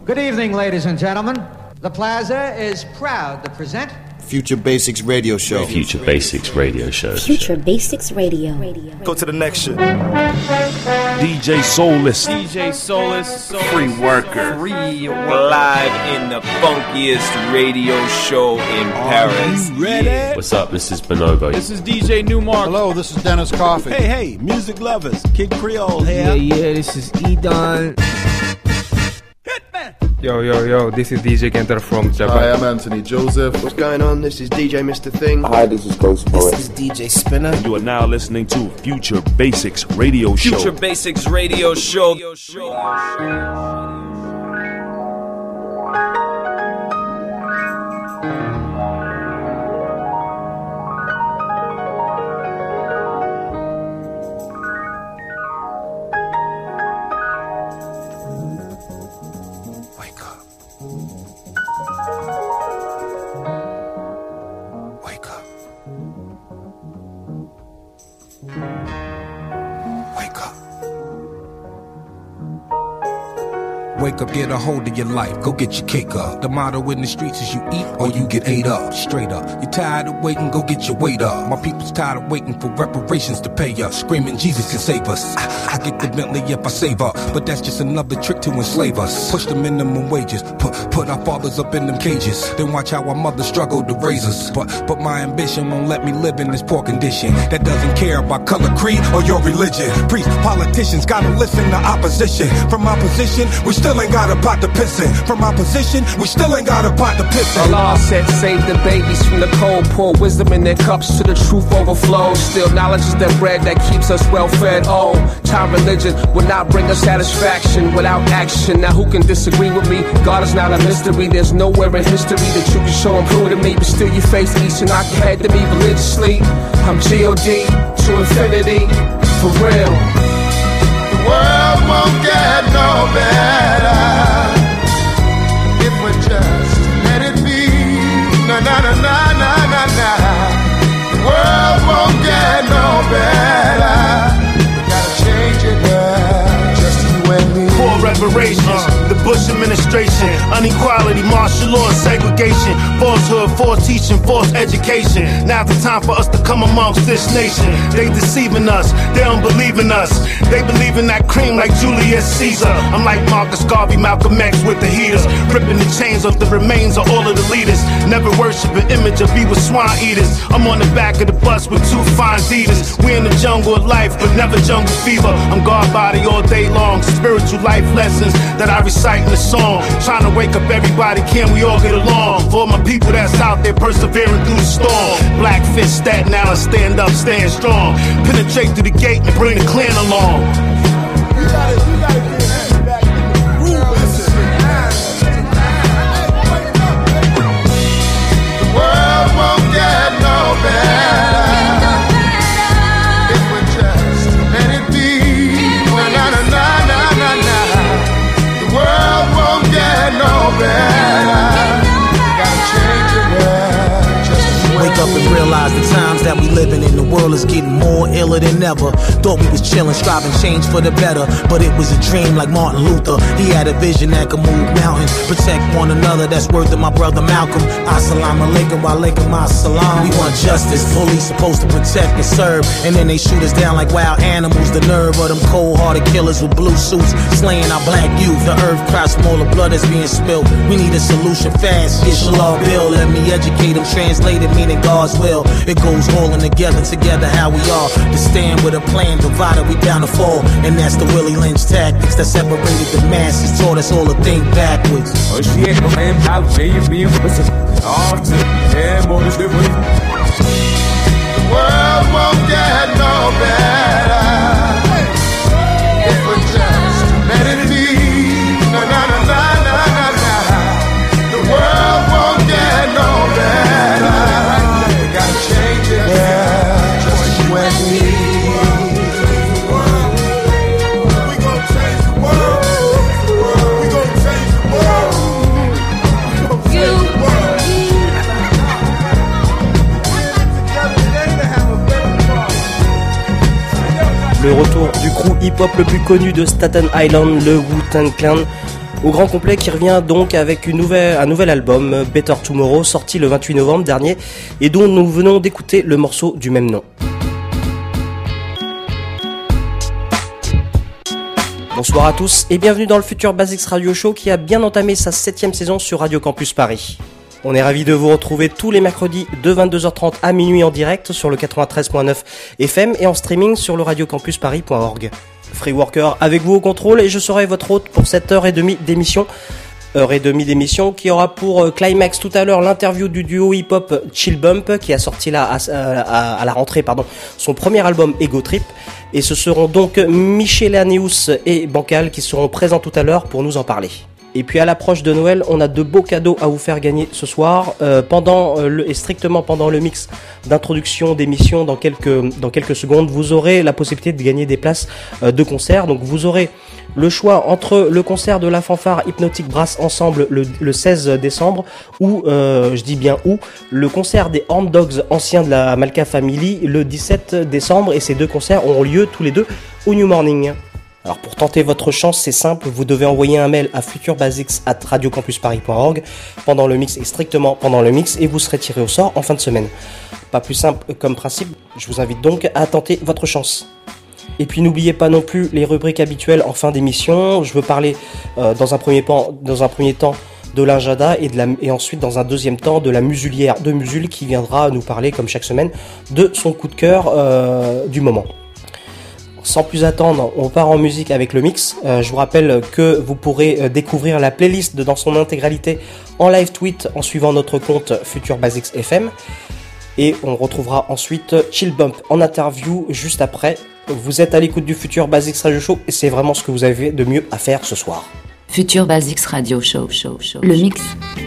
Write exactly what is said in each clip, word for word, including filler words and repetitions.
Good evening, ladies and gentlemen. The Plaza is proud to present Future Basics Radio Show. Future Basics Radio Show. Future Basics Radio. Go to the next shit. D J Soulless. D J Soulless. Free worker. Free worker. Live in the funkiest radio show in Paris. Ready? What's up? This is Bonobo. This is D J Newmark. Hello, this is Dennis Coffey. Hey, hey, music lovers. Kid Creole here. Yeah, yeah, this is Edon. Yo, yo, yo, this is D J Kenter from Japan. Hi, I'm Anthony Joseph. What's going on? This is D J Mister Thing. Hi, this is Ghost Poet. This is D J Spinner. You are now listening to Future Basics Radio Show. Future Basics Radio Show. Wake up, get a hold of your life, go get your cake up. The motto in the streets is you eat or you get ate up. Straight up, you're tired of waiting, go get your weight up. My people's tired of waiting for reparations to pay us. Screaming Jesus can save us. I, I get the Bentley if I save up, but that's just another trick to enslave us. Push the minimum wages, put put our fathers up in them cages. Then watch how our mothers struggle to raise us. But but my ambition won't let me live in this poor condition that doesn't care about color, creed, or your religion. Priests, politicians gotta listen to opposition. From my position, we still ain't got a pot to piss in. From my position, we still ain't got a pot to piss in. Allah said, save the babies from the cold, pour wisdom in their cups to the truth overflows. Still, knowledge is the bread that keeps us well fed. Oh, time religion will not bring us satisfaction without action. Now, who can disagree with me? God is not a mystery. There's nowhere in history that you can show and prove to me. But still, you face each and I can head to me religiously. I'm G O D to infinity, for real. The world won't get no better if we just let it be. Na na na na na na na. The world won't get no better. We gotta change it now, just you and me. Poor reparations, uh. the Bush administration, unequality, martial law, segregation, falsehood, false teaching, false education. Now's the time for us to come amongst this nation. They deceiving us, they don't believe in us. They believe in that cream like Julius Caesar. I'm like Marcus Garvey, Malcolm X with the heaters, ripping the chains off the remains of all of the leaders. Never worship an image or be with swine eaters. I'm on the back of the bus with two fine Adidas. We in the jungle of life, but never jungle fever. I'm God body all day long, spiritual life lessons that I recite in the song. Trying to wake up everybody, can we all get along? For my people that's out there persevering through the storm. Black fist, Staten Island, stand up, stand strong. Penetrate through the gate and bring the clan along. You gotta, you gotta get that back in the groove. The world won't get no better if we just let it be. Na na na na na na. The world won't get no better. Gotta change it now, just wake up and realize the times that we living in, the world is getting more iller than ever. Thought we was chilling, striving change for the better, but it was a dream like Martin Luther. He had a vision that could move mountains, protect one another. That's worth of my brother Malcolm. Assalamu alaikum wa alaikum assalam. We want justice, police supposed to protect and serve, and then they shoot us down like wild animals. The nerve of them cold-hearted killers with blue suits slaying our black youth. The earth cries from all the blood that's being spilled. We need a solution fast. Inshallah, Bill, let me educate them. Translate it, meaning God's will. It goes all in together, together how we are. To stand with a plan, divided, we bound to fall. And that's the Willie Lynch tactics that separated the masses, taught us all to think backwards. Oh shit, man, I'll pay you being off to yeah, more than different. The world won't get no better if we just let it be. Na na na na na na na. The world won't get no better. We gotta change it now, just you and me. We gon' change the world. We gon' change the world. We gon' change the world. Le retour du crew hip-hop le plus connu de Staten Island, le Wu-Tang Clan, Au grand complet qui revient donc avec une nouvelle, un nouvel album, Better Tomorrow, sorti le vingt-huit novembre dernier et dont nous venons d'écouter le morceau du même nom. Bonsoir à tous et bienvenue dans le Future Basics Radio Show qui a bien entamé sa septième saison sur Radio Campus Paris. On est ravis de vous retrouver tous les mercredis de vingt-deux heures trente à minuit en direct sur le quatre-vingt-treize point neuf F M et en streaming sur le radiocampus paris point org. Free Worker avec vous au contrôle et je serai votre hôte pour cette heure et demie d'émission. Heure et demie d'émission qui aura pour climax tout à l'heure l'interview du duo hip-hop Chill Bump qui a sorti là, à, à, à la rentrée pardon, son premier album Ego Trip. Et ce seront donc Michelaneus et Bancal qui seront présents tout à l'heure pour nous en parler. Et puis à l'approche de Noël, on a de beaux cadeaux à vous faire gagner ce soir. Euh, pendant euh, le, et strictement pendant le mix d'introduction d'émission, dans quelques, dans quelques secondes, vous aurez la possibilité de gagner des places euh, de concert. Donc vous aurez le choix entre le concert de la fanfare Hypnotic Brass Ensemble le, le seize décembre ou, euh, je dis bien où, le concert des Horn Dogs anciens de la Malka Family le dix-sept décembre. Et ces deux concerts auront lieu tous les deux au New Morning. Alors pour tenter votre chance, c'est simple, vous devez envoyer un mail à futurebasics arobase radiocampusparis point org pendant le mix et strictement pendant le mix et vous serez tiré au sort en fin de semaine. Pas plus simple comme principe, je vous invite donc à tenter votre chance. Et puis n'oubliez pas non plus les rubriques habituelles en fin d'émission. Je veux parler euh, dans, un premier pan, dans un premier temps de l'Injada et, de la, et ensuite dans un deuxième temps de la musulière de Musul qui viendra nous parler comme chaque semaine de son coup de cœur euh, du moment. Sans plus attendre, on part en musique avec le mix. Euh, je vous rappelle que vous pourrez euh, découvrir la playlist de, dans son intégralité en live tweet en suivant notre compte Future Basics F M. Et on retrouvera ensuite Chill Bump en interview juste après. Vous êtes à l'écoute du Future Basics Radio Show et c'est vraiment ce que vous avez de mieux à faire ce soir. Future Basics Radio Show, show, show. Le mix.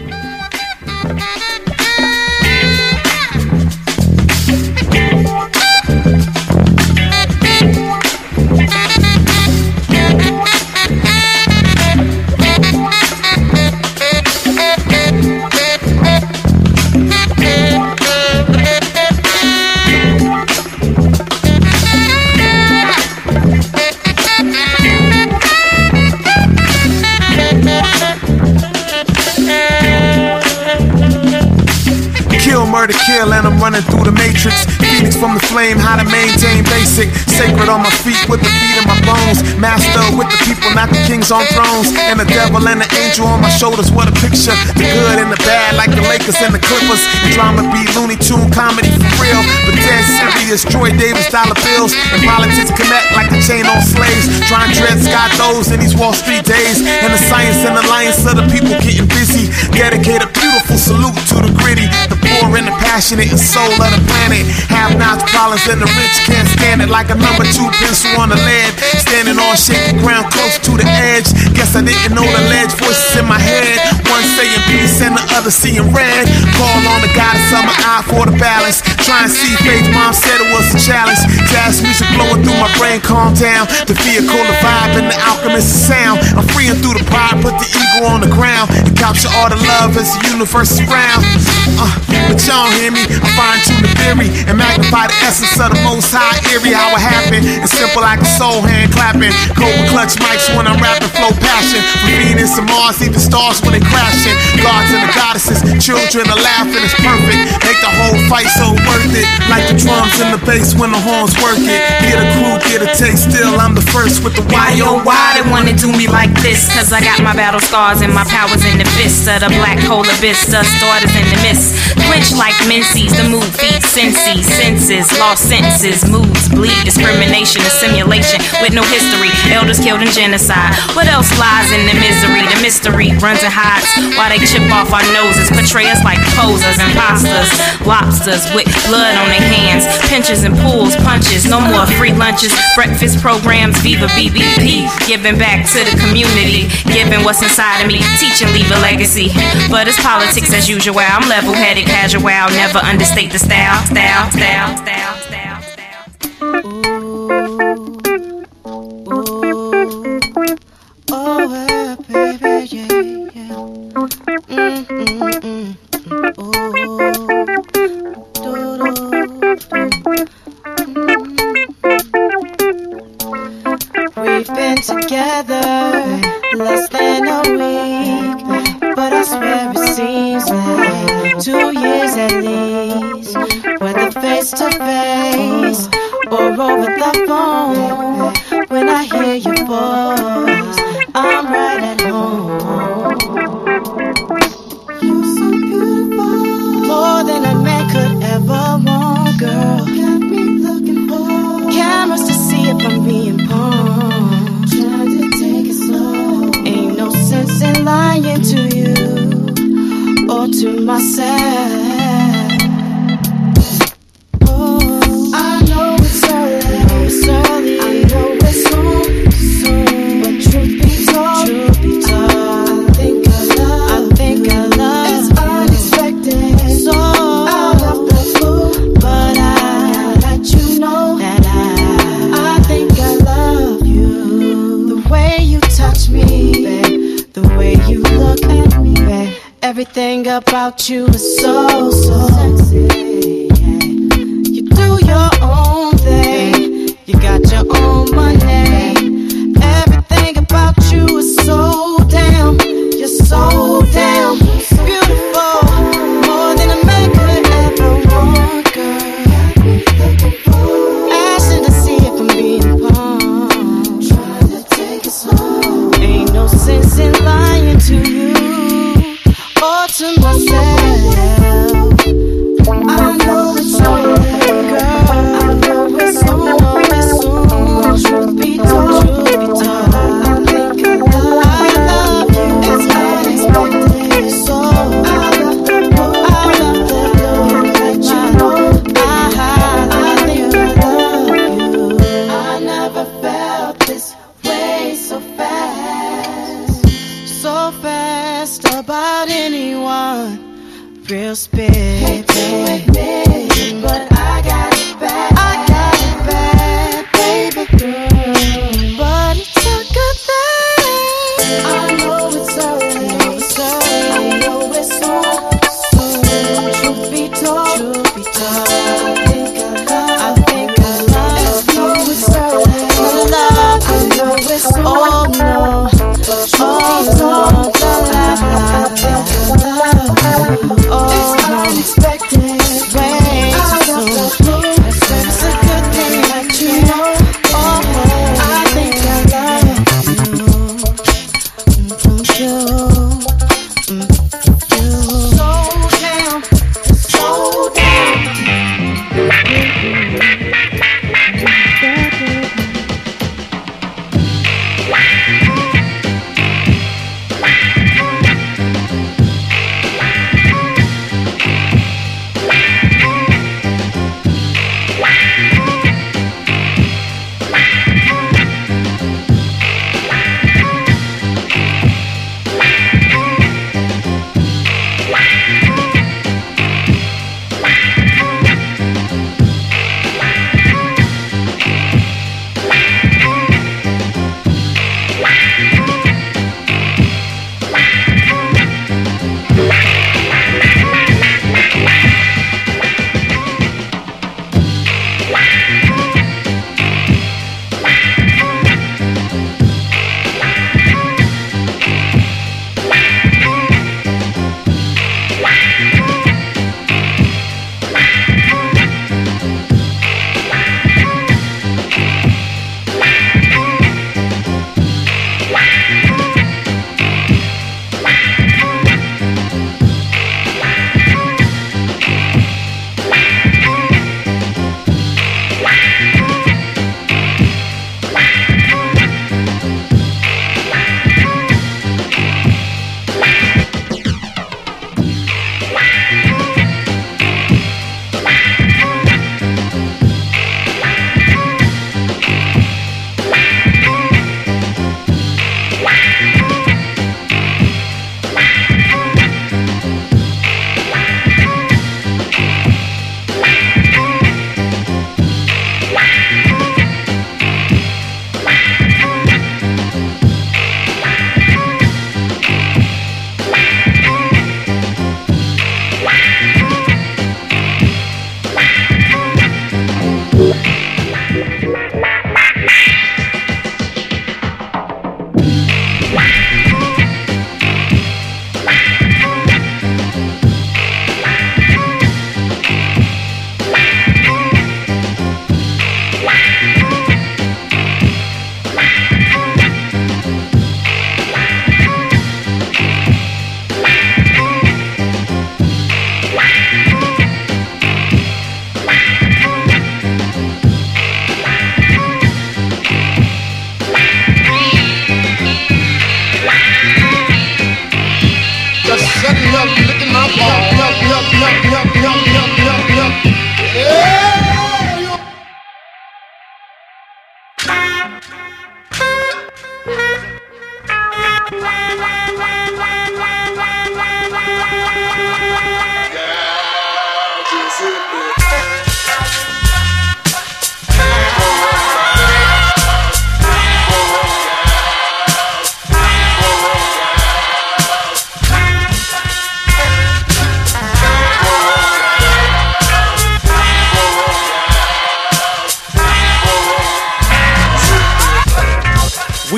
Murder, kill, and I'm running through the matrix. Phoenix from the flame, how to maintain basic. Sacred on my feet with the beat in my bones. Master with the people, not the kings on thrones. And the devil and the angel on my shoulders, what a picture. The good and the bad, like the Lakers and the Clippers. And drama be Looney Tune comedy for real. But dead serious, Troy Davis dollar bills. And politics connect like a chain on slaves. Trying to dread Scott those in these Wall Street days. And the science and alliance of the people getting busy. Dedicate a beautiful salute to the gritty. The poor and the passionate and soul of the planet. Have nots, problems, and the rich can't stand it. Like a number two pencil on the lead. Standing on shaky ground close to the edge. Guess I didn't know the ledge. Voices in my head. One saying peace and the other seeing red. Call on the goddess of my eye for the balance. Try and see faith, mom said it was a challenge. Jazz music blowing through my brain, calm down. The vehicle, the vibe, and the alchemist of sound. I'm freeing through the pride, put the ego on the ground. And capture all the love as the universe is round. Uh, but y'all hear me? I fine tune the theory and magnify the essence of the most high eerie. How it happened, it's simple like a soul hand clapping. Cobra clutch mics when I'm rapping, flow passion. From Venus and Mars, even stars when they crashing. Gods and the goddesses, children are laughing, it's perfect. Make the whole fight so worth it. Like the drums and the bass when the horns work it. Get a crew, get a taste, still I'm the first with the why yo why they wanna do me like this? Cause I got my battle scars and my powers in the fist of the black hole abyss. Dust starters in the mist. Quench like minces, the mood feeds senses, senses, lost sentences, moods bleed, discrimination, a simulation with no history. Elders killed in genocide. What else lies in the misery? The mystery runs and hides while they chip off our noses, portray us like posers, imposters, lobsters with blood on their hands, pinches and pulls, punches, no more free lunches, breakfast programs, Viva B B P, giving back to the community, giving what's inside of me, teaching, leave a legacy. But it's politics as usual. I'm level-headed, casual, never understate the style, style, style, style, style, style. Ooh, ooh, oh, yeah, baby, yeah, yeah. Mm, mm, mm, mm, ooh, do, do, do. Mm. We've been together less than a week, but I swear it seems like two years at least. Whether face to face or over the phone, when I hear your voice, I'm right at home. You're so beautiful, more than a man could ever want, girl. Got me looking for cameras to see if I'm being pawned. Trying to take it slow. Ain't no sense in lying to you or to myself. Oh, I know it's early, it's early. I know it's soon, soon. But truth be told, truth be told, I think I love, I think I love. It's unexpected, so out of the blue. But I let you know that I, I think I love you. The way you touch me, babe, the way you look at me, babe. Everything about you is so, so sexy. You do your own thing, you got your own money. Everything about you is so damn, you're so damn beautiful, more than a man could ever want, girl. Asking to see if I'm being pawned, trying to take it slow. Ain't no sense in lying to you or to myself. I know it's so late, girl. I know it's soon, it's soon. Truth be told, truth be told, I think I love, I love you. It's unexpected, so out of the blue, out of the blue. Let you know I, I think I love you. I never felt this way so fast, so fast about anyone. Real spit, hate to admit, but I got it bad. I got it bad, baby girl. But it's a good thing. I know it's early, it's early. I know it's soon, soon. Truth be told, truth be told, I think I love, I think I love. I know it's early, I love. I know it's soon. Oh no, oh no, I think I love. Oh, it's unexpected, way too soon. It's a good thing that you know. Oh, I think I love you. You, you, so damn, so damn.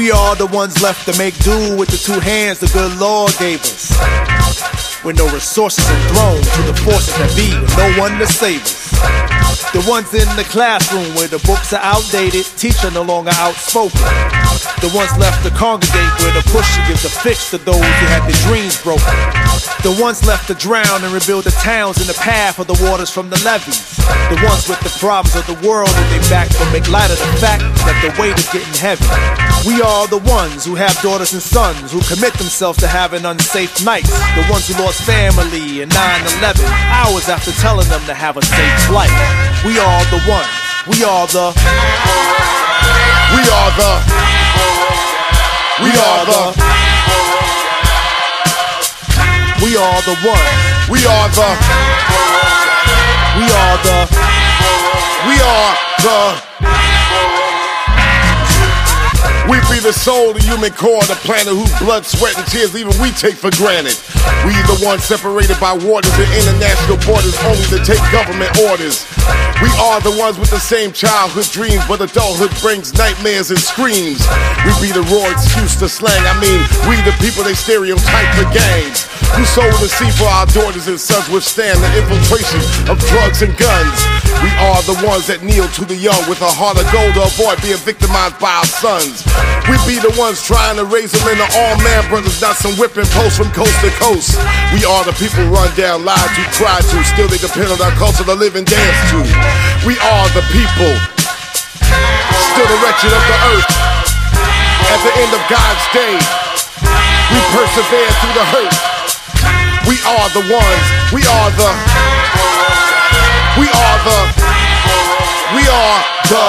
We are the ones left to make do with the two hands the good Lord gave us. With no resources and thrown to the forces that be, with no one to save us. The ones in the classroom where the books are outdated, teacher no longer outspoken. The ones left to congregate where the pusher gives a fix to those who had their dreams broken. The ones left to drown and rebuild the towns in the path of the waters from the levees. The ones with the problems of the world in their back but make light of the fact that the weight is getting heavy. We are the ones who have daughters and sons who commit themselves to having unsafe nights. The ones who lost family in nine eleven, hours after telling them to have a safe flight. We are the ones. We are the. We are the. We are the. We are the ones. We are the. We are the. We are the. We be the soul, the human core, the planet whose blood, sweat, and tears even we take for granted. We the ones separated by waters and international borders only to take government orders. We are the ones with the same childhood dreams, but adulthood brings nightmares and screams. We be the raw excuse to slang, I mean, we the people they stereotype for gangs. Who sold the sea for our daughters and sons withstand the infiltration of drugs and guns. We are the ones that kneel to the young with a heart of gold to avoid being victimized by our sons. We be the ones trying to raise them into all man brothers, not some whipping posts from coast to coast. We are the people run down, lied to, cried to, still they depend on our culture to live and dance to. We are the people, still the wretched of the earth. At the end of God's day, we persevere through the hurt. We are the ones, we are the, we are the, we are the.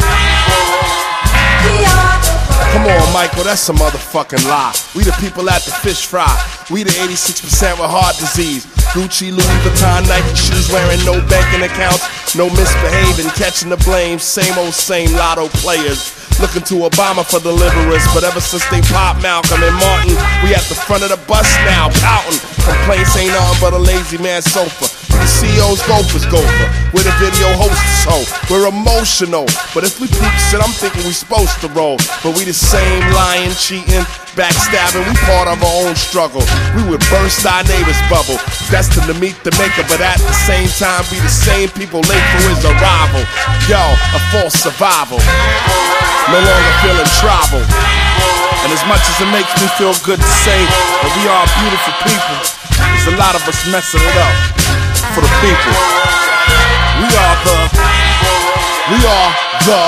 Come on, Michael, that's a motherfucking lie. We the people at the fish fry. We the eighty-six percent with heart disease. Gucci, Louis Vuitton, Nike shoes, wearing no banking accounts, no misbehaving, catching the blame. Same old same lotto players. Looking to Obama for deliverance, but ever since they popped Malcolm and Martin, we at the front of the bus now, pouting. Complaints ain't nothing but a lazy man's sofa. We the C E O's gophers gopher. We're the video hosts, so we're emotional. But if we peep shit, I'm thinking we supposed to roll. But we the same lying, cheating, backstabbing, we part of our own struggle. We would burst our neighbor's bubble, destined to meet the maker, but at the same time be the same people late for his arrival. Yo, a false survival. No longer feeling tribal. And as much as it makes me feel good to say that we are beautiful people, there's a lot of us messing it up for the people. We are the, we are the.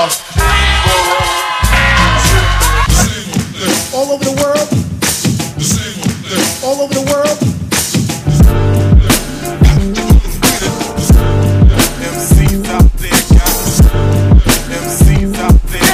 All over the world, all over the world. M Cs out there, guys. M Cs out there.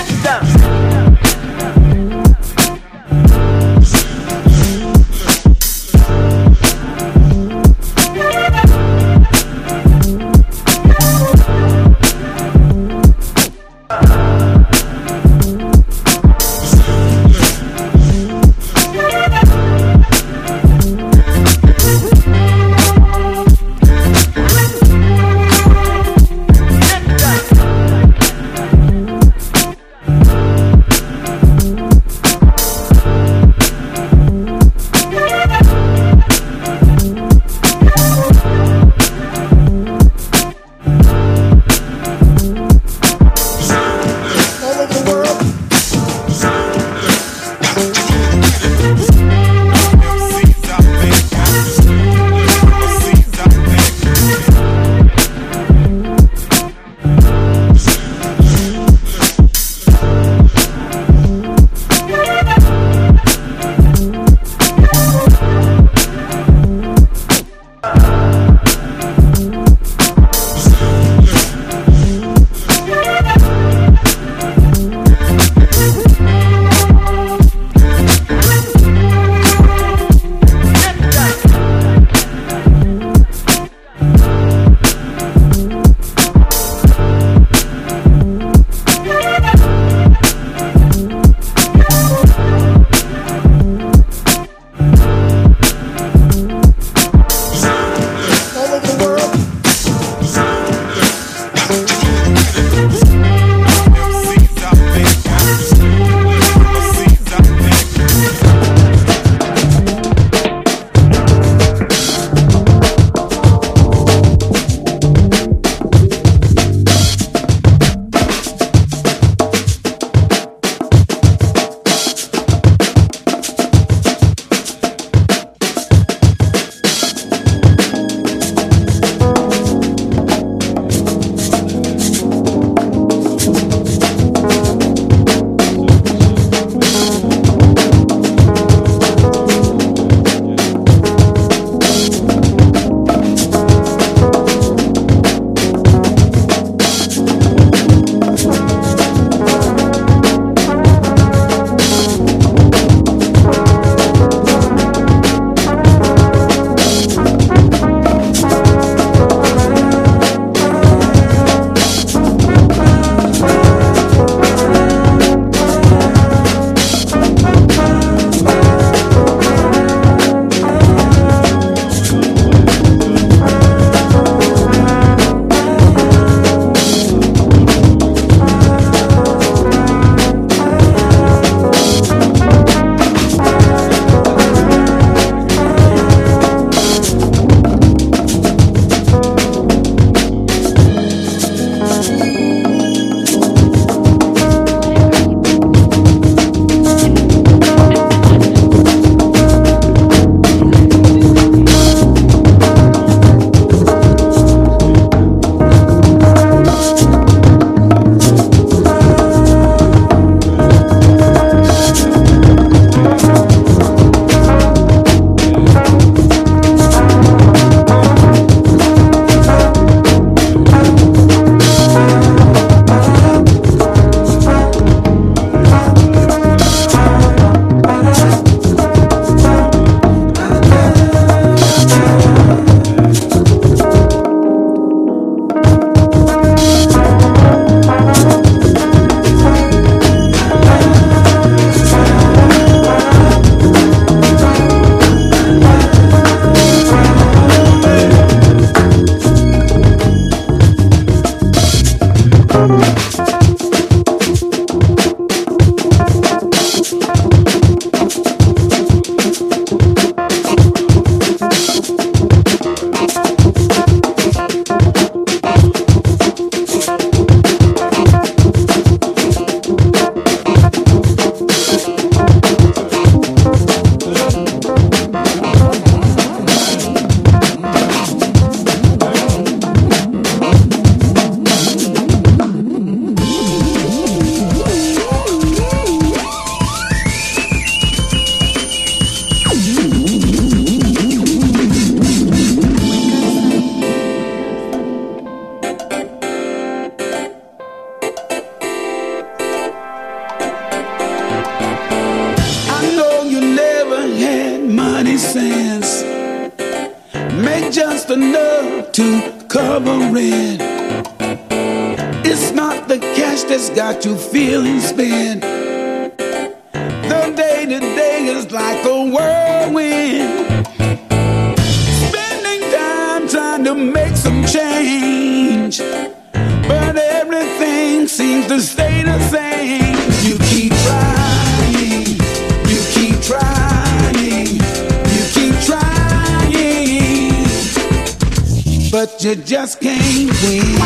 sense. Make just enough to cover it. It's not the cash that's got you feeling spent. The day to day is like a whirlwind. Spending time trying to make some change, but everything seems to stay the same. You keep trying, you keep trying, you keep trying, but you just can't win.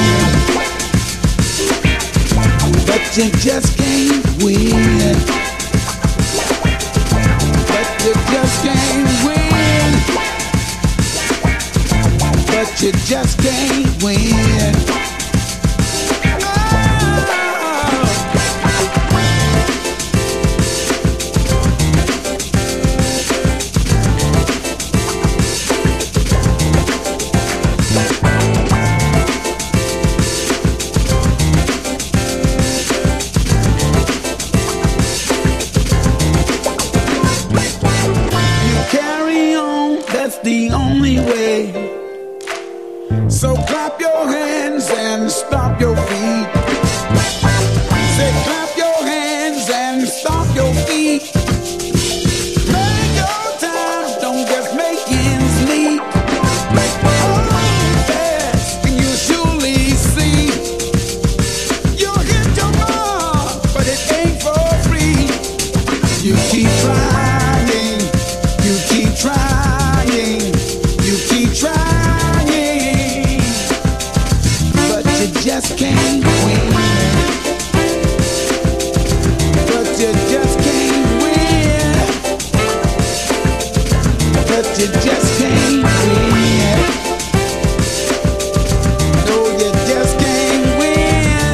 But you just can't win. But you just can't win. But you just can't win. The only way. So clap your hands and stomp your feet. Say clap your hands and stomp your feet. Make your time, don't just make ends meet. Oh, yes, and you surely see you'll hit your mark, but it ain't for free. You keep trying, you keep trying. Trying, but you just can't win. But you just can't win. But you just can't win. No, you just can't win.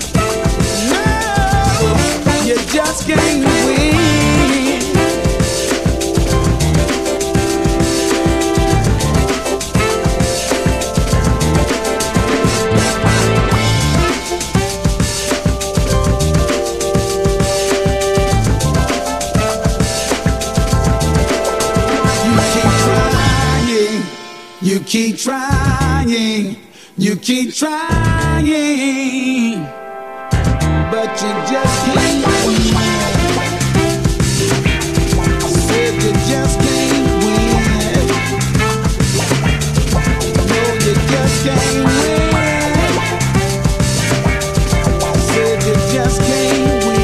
No, you just can't win. You keep trying, you keep trying, but you just can't win. Said you just can't win. No, you just can't win. Said you just can't win.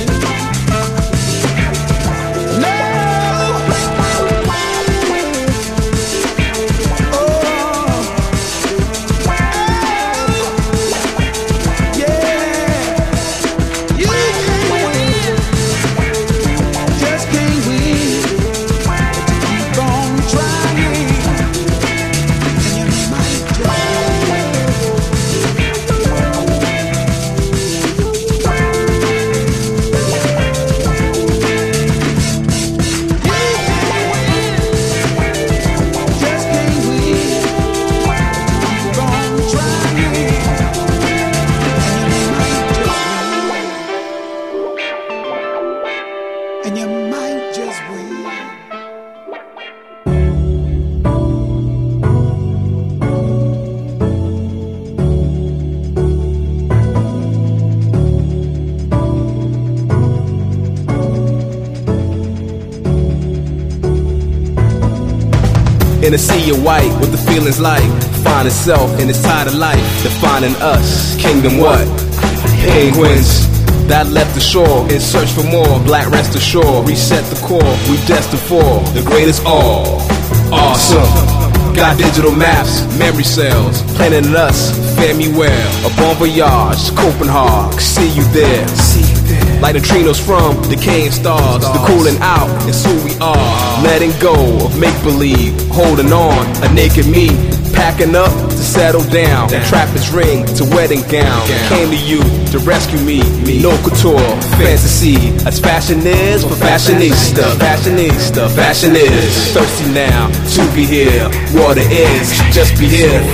In a sea of white, what the feeling's like. Find itself in its tide of life. Defining us, kingdom what? Penguins that left the shore in search for more. Black rest ashore, reset the core. We destined for the greatest all. Awesome. Got digital maps, memory cells, planning us, fare me well. A bon voyage, Copenhagen, see you there. Like neutrinos from decaying stars, the cooling out is who we are. Letting go of make-believe, holding on, a naked me, packing up to settle down. Trappers ring to wedding gown. Came to you to rescue me, no couture, fantasy. As fashion is for fashionista, fashionista, fashion is. Thirsty now to be here, water is, just be here.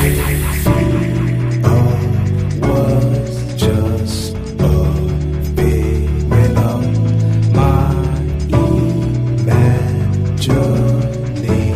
Journey.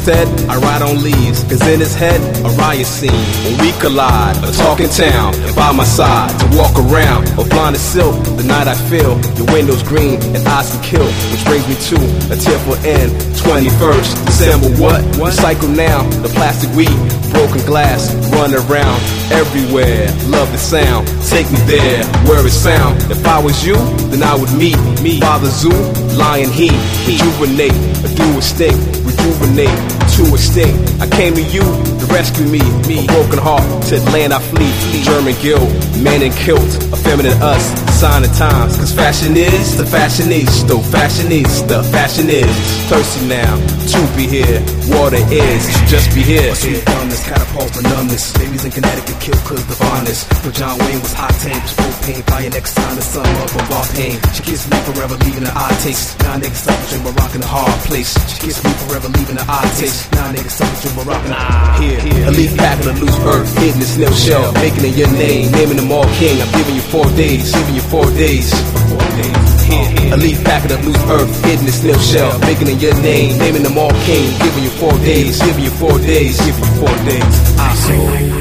Instead, I ride on leaves, cause in his head, a riot scene. When we collide, a talking town, and by my side, to walk around, or blind as silk, the night I feel, your windows green, and eyes can kill, which brings me to a tearful end, twenty-first December, what? Recycle now, the plastic weed, broken glass, run around, everywhere, love the sound, take me there, where it's found. If I was you, then I would meet me, Father Zoo, Lion Heat, rejuvenate, a dual extinct, rejuvenate, to extinct. I came to you to rescue me, me, a broken heart, to the land I flee, German guilt, man in kilt, a feminine us, sign of times, cause fashion is the fashionista, fashionista, fashion is thirsty now, to be here, water is, just be here. Numbness, catapult for numbness. Babies in Connecticut kill cause the fondness. But John Wayne was hot tank, was propane. Fire next time the sun up of our pain. She kissed me forever, leaving an odd taste. Now niggas suffering, but rocking a hard place. She kissed me forever, leaving an odd taste. Now niggas suffering, but rocking a here, here. A leaf pack of the loose earth, hidden in snail shell. Making it your name, naming them all king. I'm giving you four days, giving you four days. Four days. Here, here. A leaf packet of loose earth, hidden in snail shell. Making it your name, naming them all king. Giving you four days, giving you four days, giving you four days. I so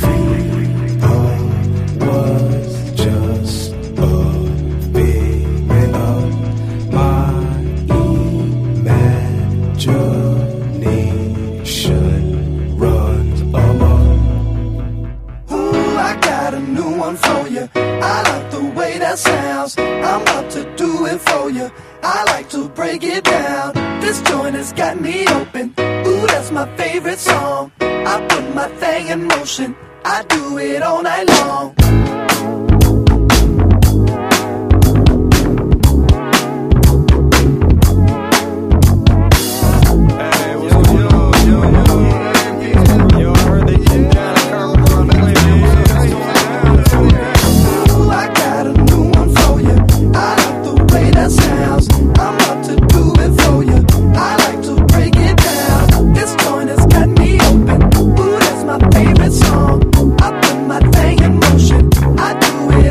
sounds, I'm about to do it for you. I like to break it down. This joint has got me open. Ooh, that's my favorite song. I put my thing in motion. I do it all night long. Song. I put my thing in motion. I do it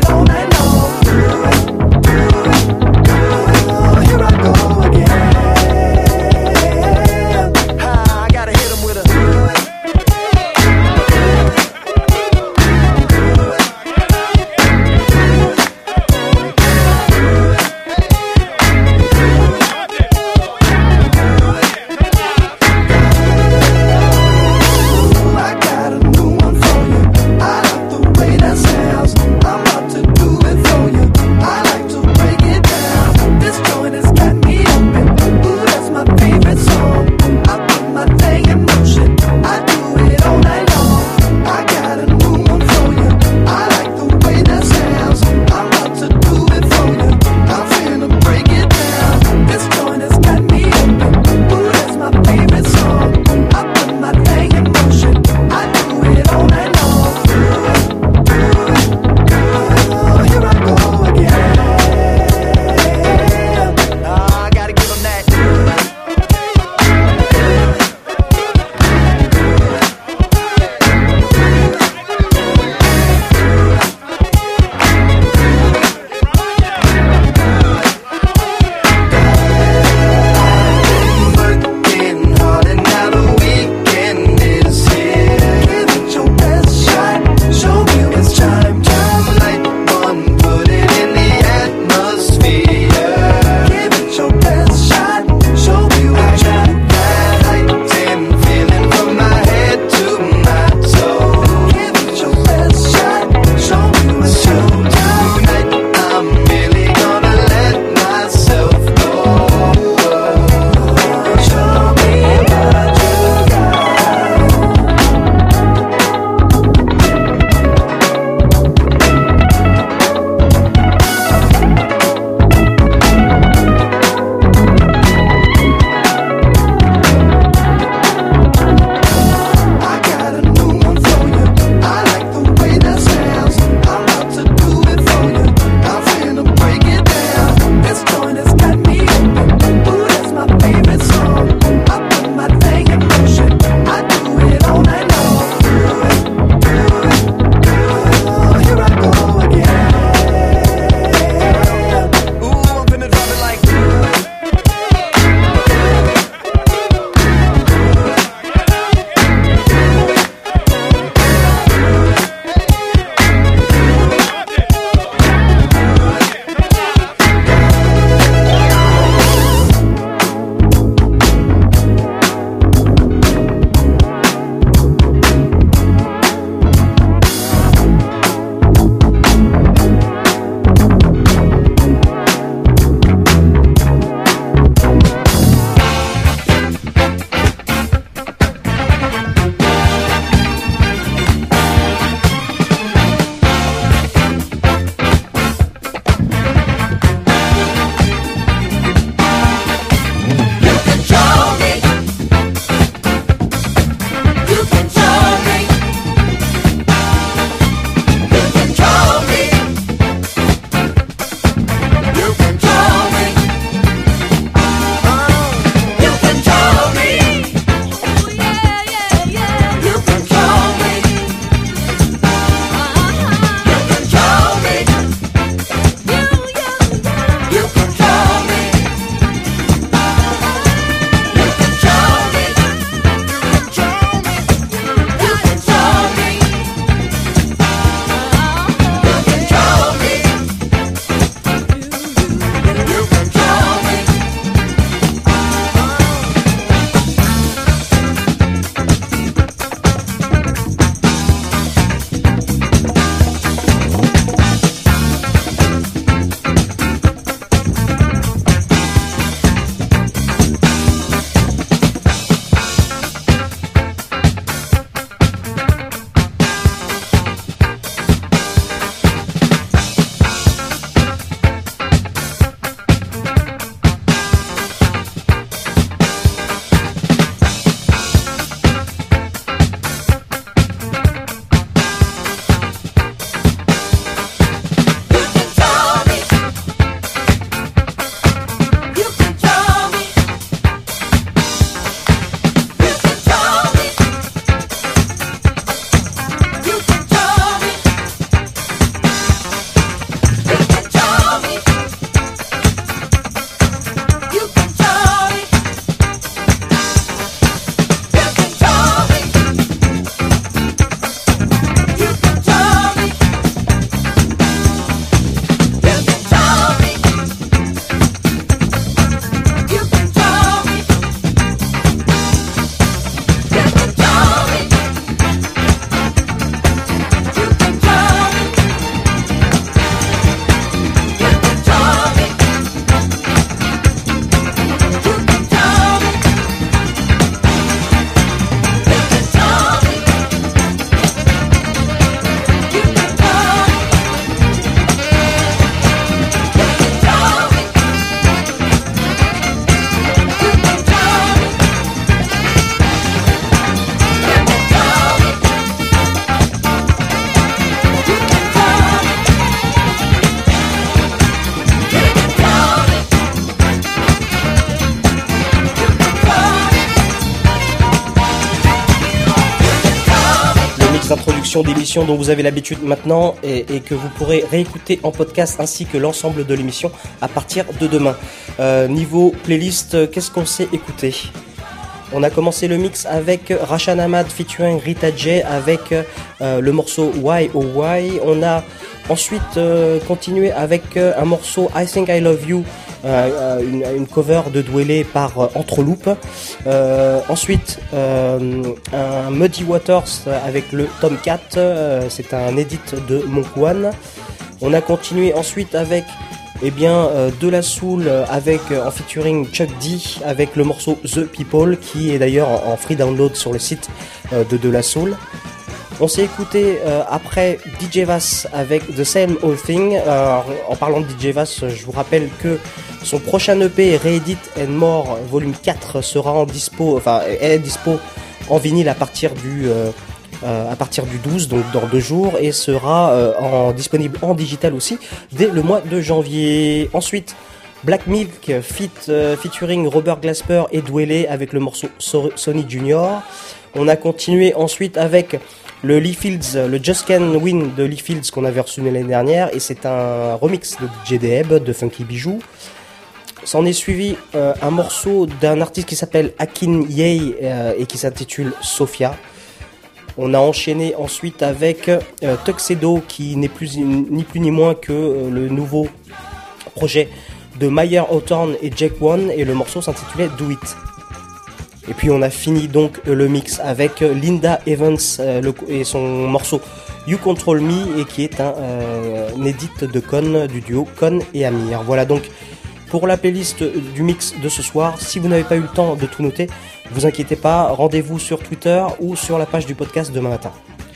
sélection d'émissions dont vous avez l'habitude maintenant et, et que vous pourrez réécouter en podcast ainsi que l'ensemble de l'émission à partir de demain. Euh, niveau playlist, qu'est-ce qu'on s'est écouté ? On a commencé le mix avec Rashan Ahmad featuring Rita J avec euh, le morceau Why Oh Why. On a ensuite euh, continué avec euh, un morceau I Think I Love You, euh, une, une cover de Dwele par euh, Entreloop. Euh, ensuite euh, un Muddy Waters avec le Tomcat, euh, c'est un edit de Monk One. On a continué ensuite avec Eh bien, euh, De La Soul avec euh, en featuring Chuck D avec le morceau The People qui est d'ailleurs en, en free download sur le site euh, de De La Soul. On s'est écouté euh, après D J Vass avec The Same Old Thing. Euh, en parlant de D J Vass, je vous rappelle que son prochain E P Reedit and More volume quatre sera en dispo, enfin est dispo en vinyle à partir du euh, Euh, à partir du douze, donc dans deux jours, et sera euh, en, disponible en digital aussi dès le mois de janvier. Ensuite, Black Milk fit, euh, featuring Robert Glasper et Dwele avec le morceau so- Sonny Junior. On a continué ensuite avec le Lee Fields, le Just Can Win de Lee Fields qu'on avait reçu l'année dernière, et c'est un remix de D J Deheb de Funky Bijou. S'en est suivi euh, un morceau d'un artiste qui s'appelle Akin Yei euh, et qui s'intitule Sophia. On a enchaîné ensuite avec euh, Tuxedo qui n'est plus ni plus ni moins que euh, le nouveau projet de Mayer Hawthorne et Jake One, et le morceau s'intitulait Do It. Et puis on a fini donc euh, le mix avec euh, Linda Evans euh, le, et son morceau You Control Me, et qui est un, euh, un edit de Con, du duo Con et Amir. Voilà donc pour la playlist du mix de ce soir. Si vous n'avez pas eu le temps de tout noter, vous inquiétez pas, rendez-vous sur Twitter ou sur la page du podcast demain matin.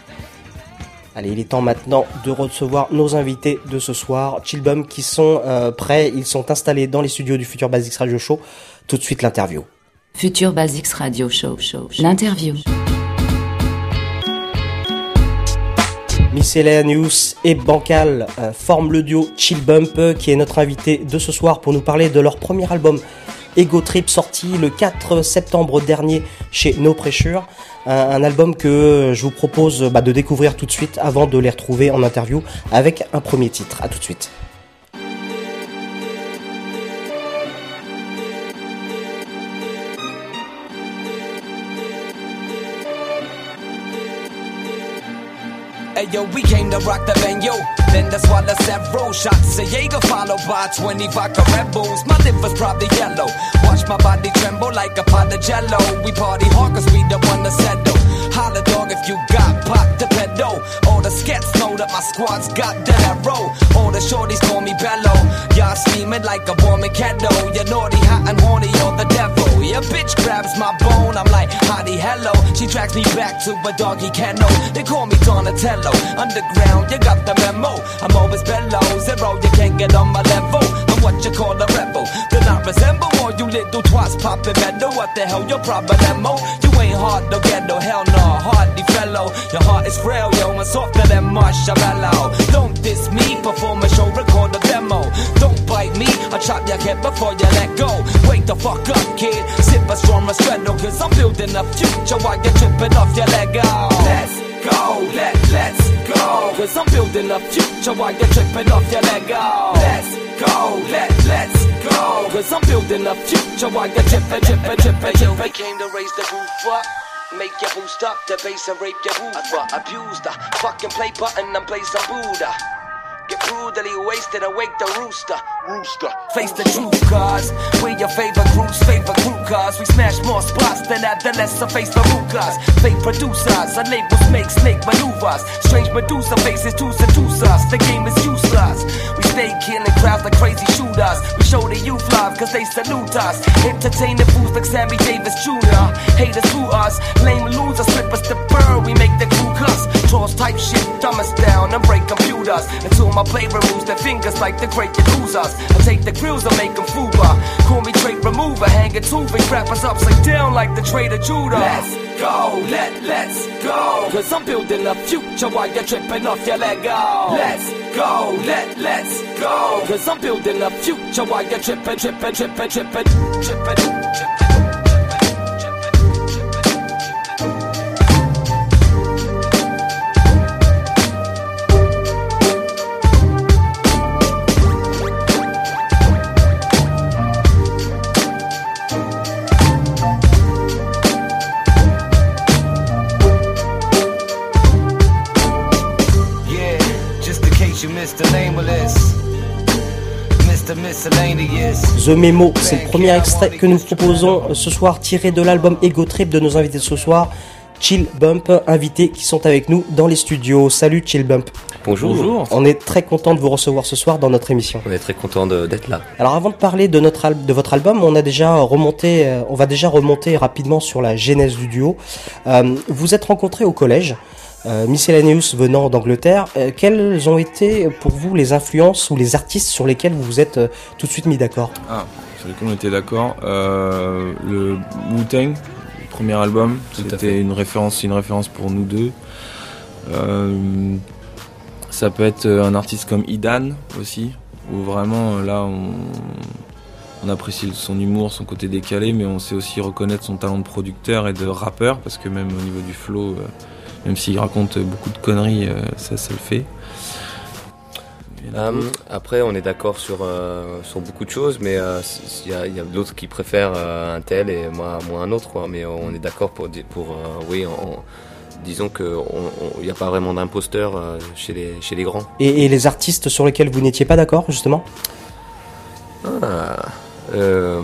Allez, il est temps maintenant de recevoir nos invités de ce soir, Chillbum, qui sont euh, prêts, ils sont installés dans les studios du Future Basics Radio Show. Tout de suite l'interview. Future Basics Radio Show, show, show. L'interview. Miscellaneous et Bancal euh, forment le duo Chill Bump, euh, qui est notre invité de ce soir pour nous parler de leur premier album Ego Trip, sorti le quatre septembre dernier chez No Pressure. Un, un album que je vous propose bah, de découvrir tout de suite avant de les retrouver en interview avec un premier titre. A tout de suite. Hey yo, we came to rock the venue. Then that's why the several shots of Jaeger followed by twenty vodka Red Bulls. My liver's probably yellow. Watch my body tremble like a pot of jello. We party hard cause we the one to settle. Holla dog if you got pop the pedal. All the skets know that my squad's got that arrow. All the shorties call me Bello. Y'all steaming like a warming kettle. You're naughty, hot and horny, you're the devil. Your bitch grabs my bone, I'm like, hottie, hello. She drags me back to a doggy kennel. They call me Donatello. Underground, you got the memo. I'm always below zero, you can't get on my level. I'm what you call a rebel. Then I resemble all you little twats popping metal. What the hell, your problemo? You ain't hard to get no hell no, hardy fellow. Your heart is frail, yo, and softer than marshmallow. Don't diss me, perform a show, record a demo. Don't bite me, I'll chop your head before you let go. Wake the fuck up, kid. Sip a strong Restretto, cause I'm building a future while you're tripping off your Lego. Let's go, let, let's go. Cause I'm building a future while you're tripping off your Lego. Let's go, let, let's go. Cause I'm building a future while you're tripping, tripping, tripping, tripping. We came to raise the roof up. Make your boost up, the bass and rape your woofer. Abused the fucking play button and play some Buddha. Get brutally wasted, awake the rooster. Rooster. Face the truth, cause we're your favorite group's favorite group, cause we smash more spots than adolescent face the root, cause fake producers, our labels make snake maneuvers. Strange Medusa faces to seduce us. The game is useless. We stay killing crowds like crazy shooters. We show the youth love, cause they salute us. Entertaining fools like Sammy Davis Junior Haters through us, lame losers, slip us the bird. We make the crew cuss. Trolls type shit, dumb us down and break computers. Until my play removes their fingers like the great Yakuzas. I take the grills and make them fuba. Call me trait remover, hanging two big rappers upside down like the Trader Judah. Let's go, let, let's go. Cause I'm building a future while you're tripping off your Lego. Let's go, let, let's go. Cause I'm building a future while you're tripping, tripping, tripping, tripping, tripping, tripping. miscellaneous. The Memo, c'est le premier extrait que nous proposons ce soir, tiré de l'album Ego Trip de nos invités de ce soir, Chill Bump, invités qui sont avec nous dans les studios. Salut Chill Bump. Bonjour. Bonjour. On est très content de vous recevoir ce soir dans notre émission. On est très content de, d'être là. Alors avant de parler de, notre al- de votre album, on a déjà remonté, euh, on va déjà remonter rapidement sur la genèse du duo. Euh, vous êtes rencontrés au collège, euh, Miscellaneous venant d'Angleterre. Euh, quelles ont été pour vous les influences ou les artistes sur lesquels vous vous êtes euh, tout de suite mis d'accord ? Ah, sur lesquels on était d'accord. Euh, le Wu-Tang, le premier album, tout c'était une référence, une référence pour nous deux. Euh, Ça peut être un artiste comme Idan aussi, où vraiment là on, on apprécie son humour, son côté décalé, mais on sait aussi reconnaître son talent de producteur et de rappeur, parce que même au niveau du flow, euh, même s'il raconte beaucoup de conneries, euh, ça, ça le fait. Um, après, on est d'accord sur, euh, sur beaucoup de choses, mais il euh, y, a, y a d'autres qui préfèrent euh, un tel et moi, moi un autre, quoi. Mais on est d'accord pour, pour euh, oui, on, disons qu'il n'y a pas vraiment d'imposteur euh, chez, les, chez les grands. Et, et les artistes sur lesquels vous n'étiez pas d'accord, justement ? Ah, euh...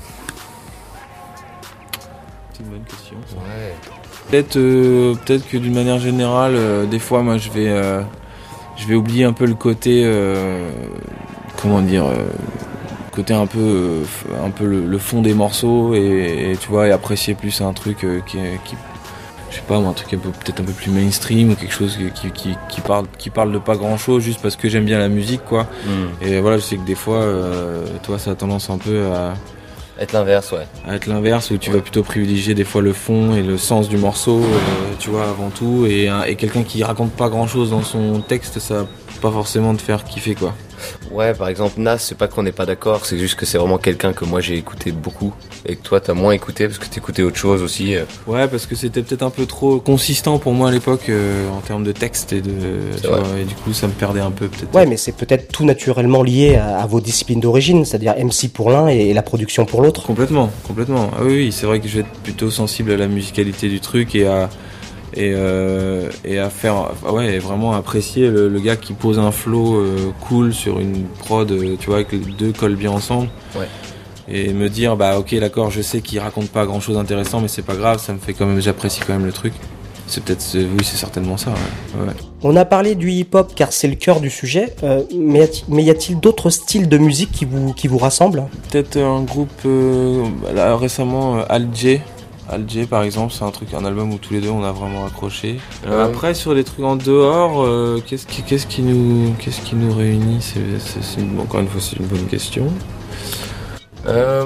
C'est une bonne question. Ça. Ouais. Peut-être, euh, peut-être que d'une manière générale, euh, des fois, moi, je vais, euh, je vais oublier un peu le côté, euh, comment dire, euh, côté un peu, euh, un peu le, le fond des morceaux et, et tu vois, et apprécier plus un truc euh, qui, qui je sais pas, un truc un peu, peut-être un peu plus mainstream ou quelque chose qui, qui, qui, parle, qui parle de pas grand chose juste parce que j'aime bien la musique, quoi. Mm. Et voilà, je sais que des fois, euh, toi, ça a tendance un peu à être l'inverse, ouais. À être l'inverse, où tu ouais. vas plutôt privilégier des fois le fond et le sens du morceau, euh, tu vois, avant tout. Et, et quelqu'un qui raconte pas grand chose dans son texte, ça va pas forcément te faire kiffer, quoi. Ouais, par exemple, Nas, c'est pas qu'on n'est pas d'accord, c'est juste que c'est vraiment quelqu'un que moi j'ai écouté beaucoup et que toi t'as moins écouté parce que t'écoutais autre chose aussi. Ouais, parce que c'était peut-être un peu trop consistant pour moi à l'époque euh, en termes de texte et de, tu vois, et du coup ça me perdait un peu peut-être. Ouais, mais c'est peut-être tout naturellement lié à, à vos disciplines d'origine, c'est-à-dire M C pour l'un et, et la production pour l'autre. Complètement, complètement. Ah oui, oui, c'est vrai que je vais être plutôt sensible à la musicalité du truc et à et euh, et à faire ouais vraiment apprécier le, le gars qui pose un flow euh, cool sur une prod, euh, tu vois, que les deux collent bien ensemble. Ouais. Et me dire bah ok d'accord, je sais qu'il raconte pas grand chose d'intéressant, mais c'est pas grave, ça me fait quand même, j'apprécie quand même le truc. C'est peut-être, c'est, oui, c'est certainement ça. Ouais. Ouais. On a parlé du hip-hop car c'est le cœur du sujet, euh, mais, mais y a-t-il d'autres styles de musique qui vous qui vous rassemblent ? Peut-être un groupe euh, là récemment, euh, Al-J. Al-J par exemple, c'est un truc, un album où tous les deux on a vraiment accroché. Euh, après sur les trucs en dehors, euh, qu'est-ce qui, qu'est-ce qui nous, qu'est-ce qui nous réunit ? C'est, c'est, c'est une, encore une fois, c'est une bonne question. Euh...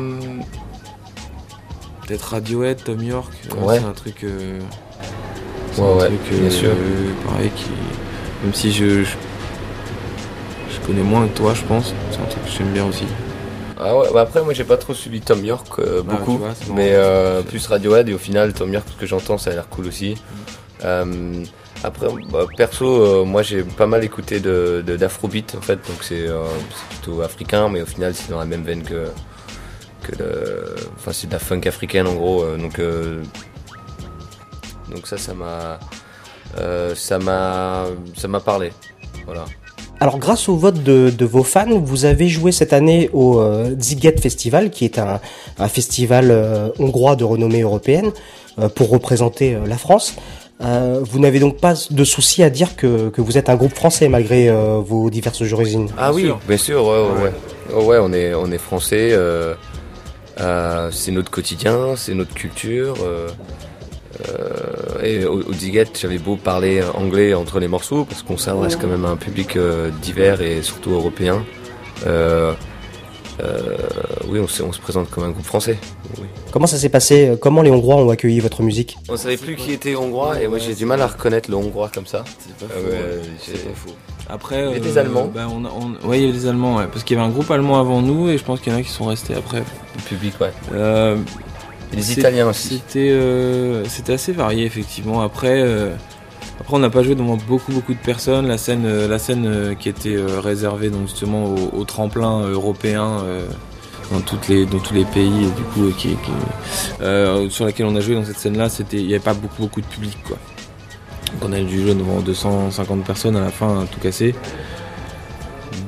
Peut-être Radiohead, Tom York. Ouais. C'est un truc. Euh, c'est ouais, un ouais, truc, bien euh, sûr. Pareil qui, même si je, je, je connais moins que toi, je pense. C'est un truc que j'aime bien aussi. Ah ouais, bah après moi j'ai pas trop suivi Tom York euh, beaucoup, ah, vois, mais euh, plus Radiohead et au final Tom York, ce que j'entends ça a l'air cool aussi. Mm. Euh, après bah, perso euh, moi j'ai pas mal écouté de, de d'afrobeat en fait, donc c'est, euh, c'est plutôt africain, mais au final c'est dans la même veine que que le, enfin c'est de la funk africaine en gros, euh, donc euh, donc ça ça m'a euh, ça m'a ça m'a parlé, voilà. Alors grâce au vote de, de vos fans, vous avez joué cette année au euh, Sziget Festival, qui est un, un festival euh, hongrois de renommée européenne, euh, pour représenter euh, la France. Euh, vous n'avez donc pas de souci à dire que, que vous êtes un groupe français malgré euh, vos diverses origines ? Ah oui, bien sûr, ouais, ouais, ouais. Oh, ouais, on est, on est français, euh, euh, c'est notre quotidien, c'est notre culture. Euh, Euh, et au, au Sziget, j'avais beau parler anglais entre les morceaux parce qu'on s'adresse quand même à un public euh, divers et surtout européen. Euh, euh, oui, on se, on se présente comme un groupe français. Oui. Comment ça s'est passé ? Comment les Hongrois ont accueilli votre musique ? On savait plus qui était hongrois et moi j'ai du mal à reconnaître le hongrois comme ça. C'est pas faux. Euh, ouais, c'est pas faux. Après, il y avait euh, des Allemands. Bah on, on, ouais, il y avait des Allemands, ouais, parce qu'il y avait un groupe allemand avant nous et je pense qu'il y en a qui sont restés après. Le public, ouais. Euh, Et les Italiens aussi. C'était, euh, c'était assez varié effectivement. Après, euh, après on n'a pas joué devant beaucoup beaucoup de personnes. La scène, euh, la scène euh, qui était euh, réservée donc justement au, au tremplin européen euh, dans toutes les, dans tous les pays et du coup euh, qui, qui, euh, sur laquelle on a joué dans cette scène-là, c'était, il n'y avait pas beaucoup beaucoup de public quoi. Donc on a dû jouer devant deux cent cinquante personnes à la fin, tout cassé.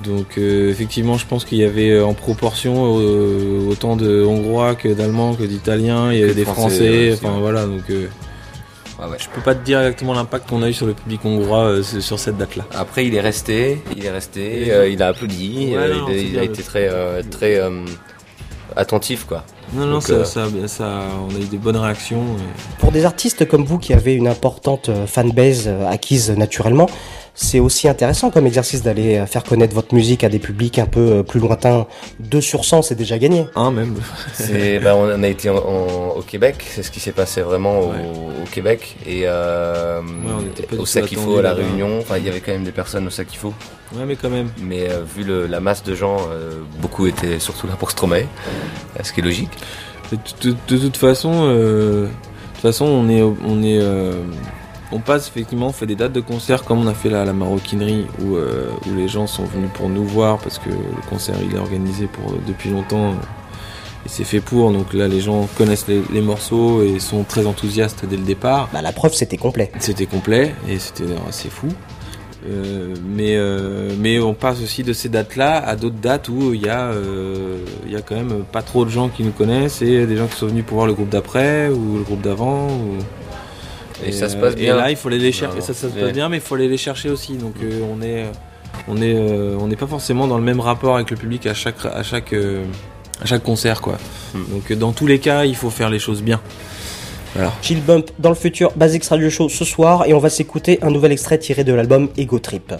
Donc euh, effectivement, je pense qu'il y avait euh, en proportion euh, autant de Hongrois que d'Allemands que d'Italiens. Il y avait des Français. Français enfin ouais. voilà, donc euh, ouais, ouais. je peux pas te dire exactement l'impact qu'on a eu sur le public hongrois euh, sur cette date-là. Après, il est resté, il est resté, euh, il a applaudi, ouais, euh, non, il, il a été très, euh, très euh, attentif, quoi. Non, non, donc, ça, euh... ça, ça, on a eu des bonnes réactions. Et... Pour des artistes comme vous qui avez une importante fanbase acquise naturellement, c'est aussi intéressant comme exercice d'aller faire connaître votre musique à des publics un peu plus lointains. deux sur cent, c'est déjà gagné. Un même. c'est, bah, on a été en, en, au Québec, c'est ce qui s'est passé vraiment au, ouais. au Québec. Et euh, ouais, au Sakifo, à La Réunion, enfin, il y avait quand même des personnes au Sakifo. Ouais, mais quand même. Mais euh, vu le, la masse de gens, euh, beaucoup étaient surtout là pour Stromae, ce qui est logique. De, de, de toute façon, euh, de toute façon, on est, on est, euh, on passe effectivement, on fait des dates de concert comme on a fait là à la Maroquinerie où, euh, où les gens sont venus pour nous voir parce que le concert il est organisé pour depuis longtemps et c'est fait pour. Donc là, les gens connaissent les, les morceaux et sont très enthousiastes dès le départ. Bah la preuve, c'était complet. C'était complet et c'était assez fou. Euh, mais euh, mais on passe aussi de ces dates-là à d'autres dates où il y a euh, il y a quand même pas trop de gens qui nous connaissent et des gens qui sont venus pour voir le groupe d'après ou le groupe d'avant. Ou... Et, et ça se passe bien. Et là, il faut aller les chercher. Non, non. Ça, ça se passe ouais. bien, mais il faut aller les chercher aussi. Donc euh, on est on est euh, on n'est pas forcément dans le même rapport avec le public à chaque à chaque euh, à chaque concert, quoi. Hmm. Donc dans tous les cas, il faut faire les choses bien. Voilà. Chill Bump dans le futur Basics Radio Show ce soir et on va s'écouter un nouvel extrait tiré de l'album Ego Trip.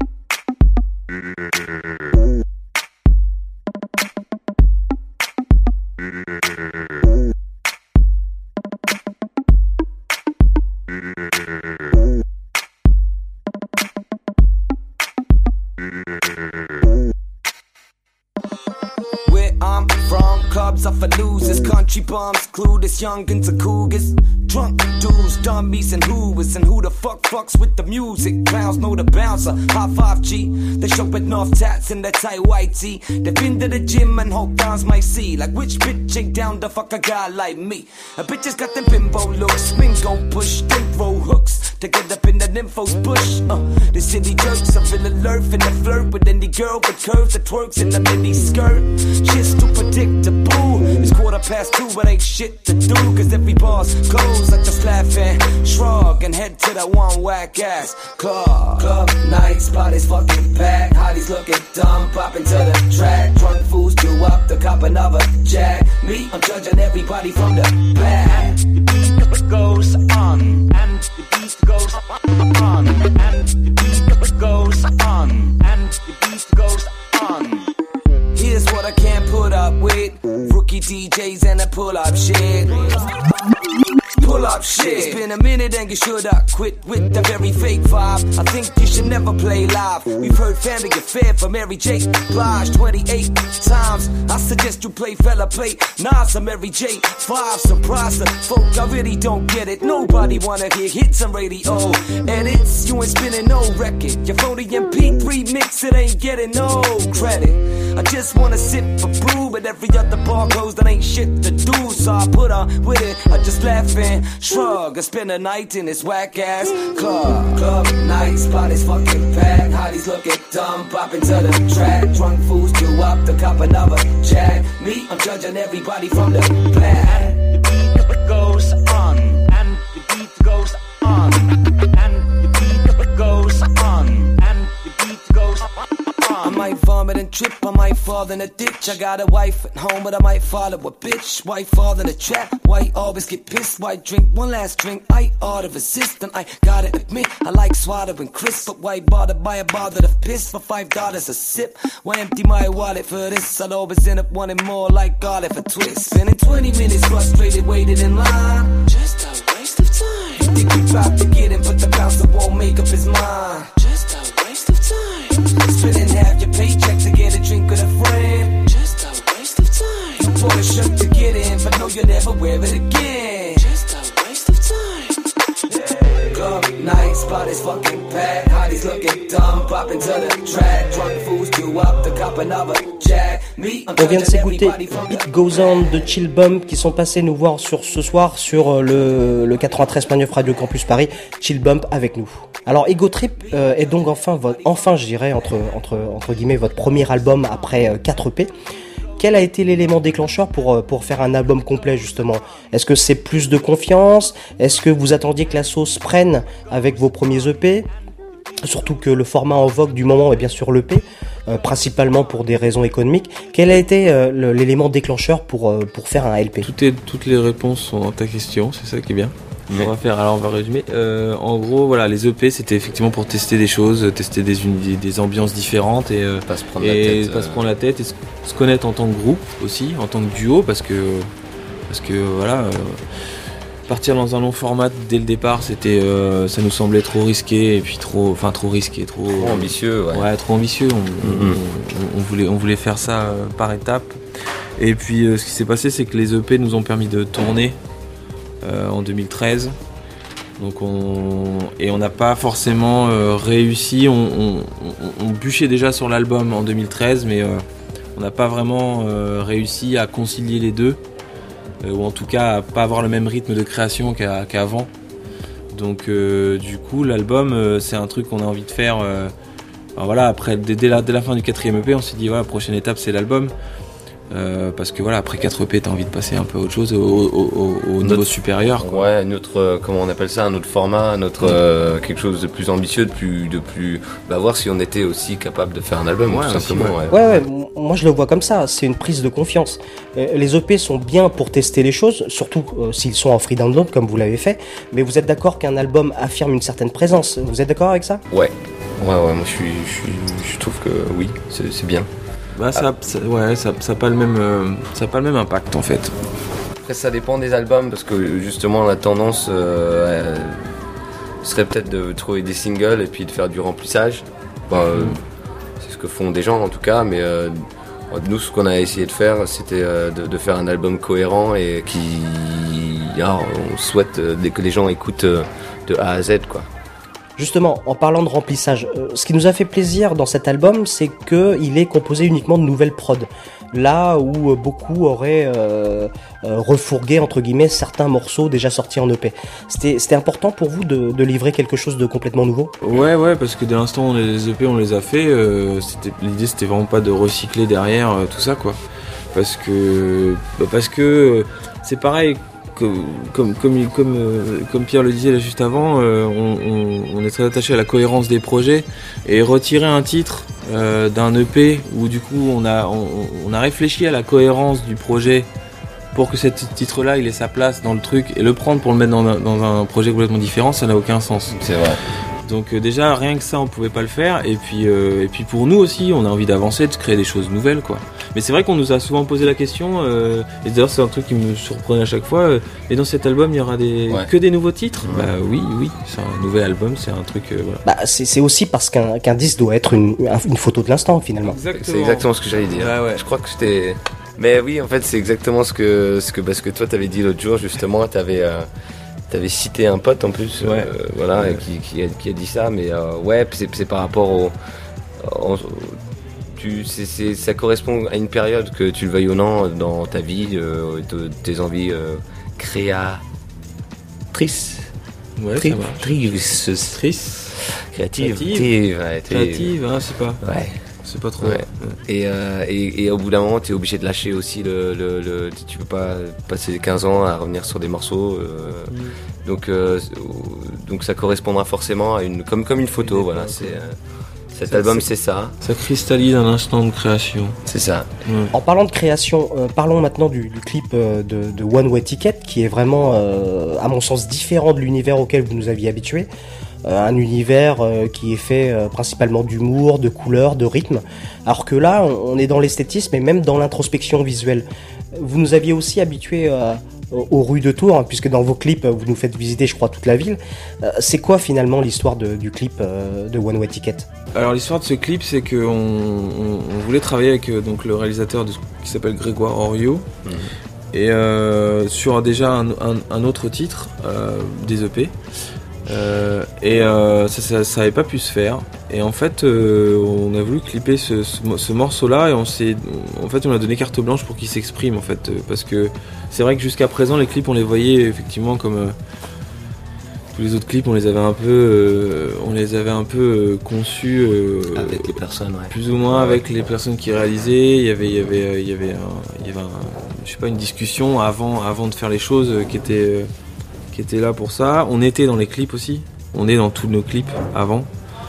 Off for losers, country bums, clueless youngins and cougars, drunk dudes, dummies and hoovers, and who the fuck fucks with the music? Clowns know the bouncer, high five G. They show enough tats in their tight white tee. They've been to the gym and hope downs might see. Like which bitch ain't down to fuck a guy like me? A bitch has got them bimbo looks, swing gon' push, then throw hooks to get up in the nympho's bush. Uh, the city jerks, I feel alert in the flirt with any girl with curves that twerks in the mini skirt. Shit's too predictable. It's quarter past two, but ain't shit to do. Cause every bar's closed, I just laugh and shrug and head to that one whack ass club. Club nights, bodies fucking packed. Hotties looking dumb, pop into the track. Drunk fools do up the cop another jack. Me, I'm judging everybody from the back. The beat goes on, and the beat goes on, and the beat goes on, and the beat goes on. Here's what I can't put up with. Rookie D Js and a pull-up shit. Pull-up shit. It's been a minute and you should have quit with the very fake vibe. I think you should never play live. We've heard Family Affair from Mary J. Blige twenty-eight times. I suggest you play Fella Play Nas or Mary J. Five surprise the folk, I really don't get it. Nobody wanna hear hits on radio edits. You ain't spinning no record. Your phony M P three mix, it ain't getting no credit. I just wanna sip a brew, but every other bar goes, that ain't shit to do. So I put on with it, I just laugh and shrug. I spend a night in this whack ass club. Club nights, bodies fucking packed. Hotties looking dumb, pop into the track. Drunk fools do up the cop another jack. Me, I'm judging everybody from the back. The beat goes on, and the beat goes on, and the beat goes on, and the beat goes on. I might vomit and trip, I might fall in a ditch. I got a wife at home, but I might follow a bitch. White fall in a trap, white always get pissed. White drink one last drink, I ought to resist. And I gotta admit, I like swallowing crisp. But why bother buy a bottle of piss for five dollars a sip? Why empty my wallet for this? I'll always end up wanting more like garlic for twist. Spending twenty minutes frustrated, waiting in line. Just a waste of time. You think you about to get in, but the bouncer won't make up his mind. Just a waste of time. Spending half your paycheck to get a drink with a friend. Just a waste of time. You bought a shirt to get in, but know you'll never wear it again. Just a waste of time. Yeah. Club nights, bodies fucking packed. Hotties looking dumb, pop into the track. Drunk fools do On vient de s'écouter Beat Goes On de Chill Bump qui sont passés nous voir sur ce soir sur le, le quatre-vingt-treize point neuf Radio Campus Paris. Chill Bump avec nous. Alors Ego Trip euh, est donc enfin, vo- enfin je dirais entre, entre, entre guillemets votre premier album après euh, quatre E P. Quel a été l'élément déclencheur pour, pour faire un album complet justement ? Est-ce que c'est plus de confiance ? Est-ce que vous attendiez que la sauce prenne avec vos premiers E P ? Surtout que le format en vogue du moment est bien sûr l'E P, euh, principalement pour des raisons économiques. Quel a été euh, le, l'élément déclencheur pour, euh, pour faire un L P ? Tout est, toutes les réponses sont dans ta question, c'est ça qui est bien. On va faire, alors on va résumer. Euh, en gros, voilà, les E P c'était effectivement pour tester des choses, tester des, des, des ambiances différentes et, euh, pas se prendre et la tête, pas euh... se prendre la tête et se, se connaître en tant que groupe aussi, en tant que duo, parce que parce que voilà, euh, partir dans un long format dès le départ, c'était, euh, ça nous semblait trop risqué et puis trop, enfin trop risqué, trop, trop ambitieux, ouais. ouais, trop ambitieux. On, mm-hmm. on, on voulait, on voulait faire ça euh, par étapes. Et puis euh, ce qui s'est passé, c'est que les E P nous ont permis de tourner. Euh, en deux mille treize, donc on et on n'a pas forcément euh, réussi. On, on, on, on bûchait déjà sur l'album en deux mille treize, mais euh, on n'a pas vraiment euh, réussi à concilier les deux, euh, ou en tout cas à pas avoir le même rythme de création qu'à, qu'avant. Donc euh, du coup, l'album, euh, c'est un truc qu'on a envie de faire. Euh, alors voilà, après dès, dès, la, dès la fin du quatrième E P, on s'est dit voilà, prochaine étape, c'est l'album. Euh, parce que voilà, après quatre E P, t'as envie de passer un peu à autre chose, au, au, au, au niveau supérieur, quoi. Ouais, un autre, euh, comment on appelle ça, un autre format, un autre, euh, quelque chose de plus ambitieux, de plus, de plus, bah voir si on était aussi capable de faire un album, ouais, tout simplement. Aussi, ouais. Ouais, ouais, moi je le vois comme ça, c'est une prise de confiance. Euh, les E P sont bien pour tester les choses, surtout euh, s'ils sont en free download comme vous l'avez fait, mais vous êtes d'accord qu'un album affirme une certaine présence, vous êtes d'accord avec ça ? Ouais, ouais, ouais, moi je suis, je suis, je trouve que oui, c'est, c'est bien. Bah ça, ça, ouais, ça, ça a pas le même, euh, ça a pas le même impact en fait. Après ça dépend des albums parce que justement la tendance euh, serait peut-être de trouver des singles et puis de faire du remplissage. Bah, euh, c'est ce que font des gens en tout cas, mais euh, nous ce qu'on a essayé de faire c'était euh, de, de faire un album cohérent et qui, alors, on souhaite euh, que les gens écoutent euh, de A à Z quoi. Justement, en parlant de remplissage, euh, ce qui nous a fait plaisir dans cet album, c'est qu'il est composé uniquement de nouvelles prods. Là où euh, beaucoup auraient euh, euh, refourgué, entre guillemets, certains morceaux déjà sortis en E P. C'était, c'était important pour vous de, de livrer quelque chose de complètement nouveau ? Ouais, ouais, parce que dès l'instant où les E P, on les a fait, euh, c'était, l'idée c'était vraiment pas de recycler derrière euh, tout ça, quoi. Parce que, bah parce que euh, c'est pareil. Comme, comme, comme, comme, euh, comme Pierre le disait là juste avant, euh, on, on, on est très attaché à la cohérence des projets et retirer un titre euh, d'un E P où du coup on a, on, on a réfléchi à la cohérence du projet pour que ce titre-là il ait sa place dans le truc et le prendre pour le mettre dans un, dans un projet complètement différent, ça n'a aucun sens. C'est vrai. Donc euh, déjà rien que ça on pouvait pas le faire et puis euh, et puis pour nous aussi on a envie d'avancer, de créer des choses nouvelles quoi. Mais c'est vrai qu'on nous a souvent posé la question euh, et d'ailleurs c'est un truc qui me surprenait à chaque fois. Euh, et dans cet album il y aura des ouais. que des nouveaux titres. Ouais. Bah oui oui c'est un nouvel album, c'est un truc euh, voilà. Bah c'est, c'est aussi parce qu'un, qu'un disque doit être une, une photo de l'instant finalement. Exactement. C'est exactement ce que j'allais dire. Ouais, ouais. Je crois que c'était. Mais oui en fait c'est exactement ce que ce que parce que toi t'avais dit l'autre jour justement t'avais. Euh... T'avais cité un pote en plus, ouais. euh, voilà, ouais. qui, qui, a, qui a dit ça, mais euh, ouais, c'est, c'est par rapport au, au tu, c'est, c'est, ça correspond à une période que tu le veuilles ou non dans ta vie, euh, de, tes envies euh, créatrices, ouais, Tri- ça marche. Trices, Trices, créative, créative, ouais, créative, hein, c'est pas, ouais. C'est pas trop. Ouais. Ouais. Et, euh, et, et au bout d'un moment, tu es obligé de lâcher aussi le, le, le. Tu peux pas passer quinze ans à revenir sur des morceaux. Euh, mm. donc, euh, donc ça correspondra forcément à une. Comme, comme une photo, oui, voilà. C'est, euh, cet ça, album, c'est, c'est ça. Ça cristallise un instant de création. C'est ça. Mm. En parlant de création, euh, parlons maintenant du, du clip euh, de, de One Way Ticket, qui est vraiment, euh, à mon sens, différent de l'univers auquel vous nous aviez habitués. Euh, un univers euh, qui est fait euh, principalement d'humour, de couleurs, de rythme, alors que là on, on est dans l'esthétisme et même dans l'introspection visuelle. Vous nous aviez aussi habitués euh, aux rues de Tours, hein, puisque dans vos clips vous nous faites visiter je crois toute la ville. Euh, c'est quoi finalement l'histoire de, du clip euh, de One Way Ticket ? Alors l'histoire de ce clip c'est qu'on on, on voulait travailler avec euh, donc, le réalisateur de, qui s'appelle Grégoire Oriot mmh. et euh, sur déjà un, un, un autre titre euh, des E P. Euh, et euh, ça, ça, ça avait pas pu se faire et en fait, euh, on a voulu clipper ce, ce, ce morceau-là et on s'est, en fait, on a donné carte blanche pour qu'il s'exprime en fait, euh, parce que c'est vrai que jusqu'à présent, les clips, on les voyait effectivement comme euh, tous les autres clips, on les avait un peu, euh, on les avait un peu euh, conçus euh, avec les personnes, ouais. plus ou moins avec les personnes qui réalisaient. Il y avait, il y avait, il y avait, un, il y avait, un, je sais pas, une discussion avant, avant de faire les choses euh, qui était, euh, qui était là pour ça. On était dans les clips aussi. On est dans tous nos clips avant.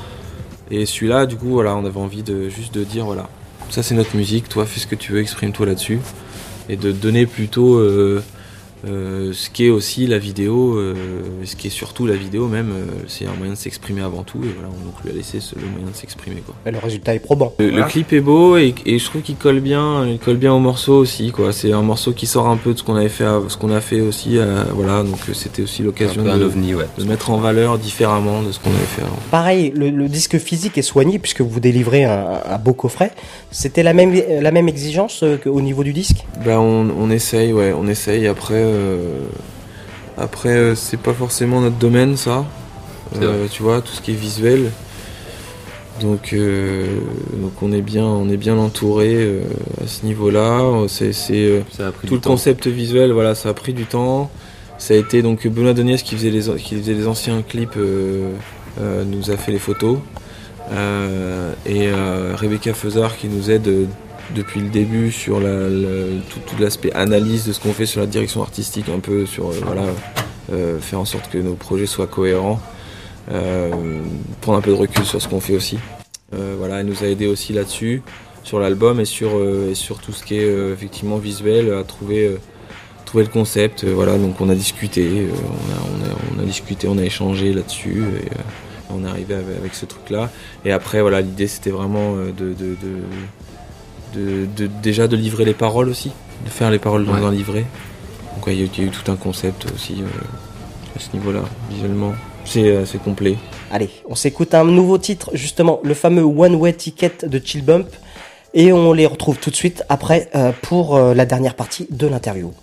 Et celui-là, du coup, voilà, on avait envie de juste de dire, voilà, ça c'est notre musique. Toi, fais ce que tu veux, exprime-toi là-dessus, et de donner plutôt. Euh, Euh, ce qui est aussi la vidéo, euh, ce qui est surtout la vidéo même, euh, c'est un moyen de s'exprimer avant tout, et voilà, on donc lui a laissé ce, le moyen de s'exprimer, quoi. Et le résultat est probant. Le, Voilà. le clip est beau et, et je trouve qu'il colle bien, il colle bien au morceau aussi, quoi. C'est un morceau qui sort un peu de ce qu'on avait fait, ce qu'on a fait aussi, euh, voilà. Donc c'était aussi l'occasion Un peu un de, ovni, ouais. de mettre en valeur différemment de ce qu'on avait fait avant. Pareil, le, le disque physique est soigné puisque vous délivrez un, un beau coffret. C'était la même, la même exigence euh, qu'au niveau du disque? Ben on, on essaye, ouais, on essaye. Après, euh, après euh, c'est pas forcément notre domaine, ça. Euh, tu vois, tout ce qui est visuel. Donc, euh, donc on est bien, on est bien entouré euh, à ce niveau-là. C'est, c'est euh, tout le temps. concept visuel, voilà, ça a pris du temps. Ça a été donc Benoît Doniez qui faisait les, qui faisait les anciens clips, euh, euh, nous a fait les photos. Euh, et euh, Rebecca Feuzard qui nous aide euh, depuis le début sur la, la, tout, tout l'aspect analyse de ce qu'on fait sur la direction artistique, un peu sur euh, voilà, euh, faire en sorte que nos projets soient cohérents, euh, prendre un peu de recul sur ce qu'on fait aussi. Euh, voilà, elle nous a aidé aussi là-dessus, sur l'album et sur, euh, et sur tout ce qui est euh, effectivement visuel, à trouver, euh, trouver le concept. Euh, voilà, donc on a discuté, euh, on, a, on, a, on a discuté, on a échangé là-dessus. Et, euh, on est arrivé avec, avec ce truc-là. Et après, voilà, l'idée c'était vraiment de, de, de, de, de déjà de livrer les paroles aussi, de faire les paroles dans ouais. un livret. Donc il ouais, y, y a eu tout un concept aussi euh, à ce niveau-là, visuellement. C'est assez complet. Allez, on s'écoute un nouveau titre, justement, le fameux One Way Ticket de Chill Bump. Et on les retrouve tout de suite après euh, pour euh, la dernière partie de l'interview.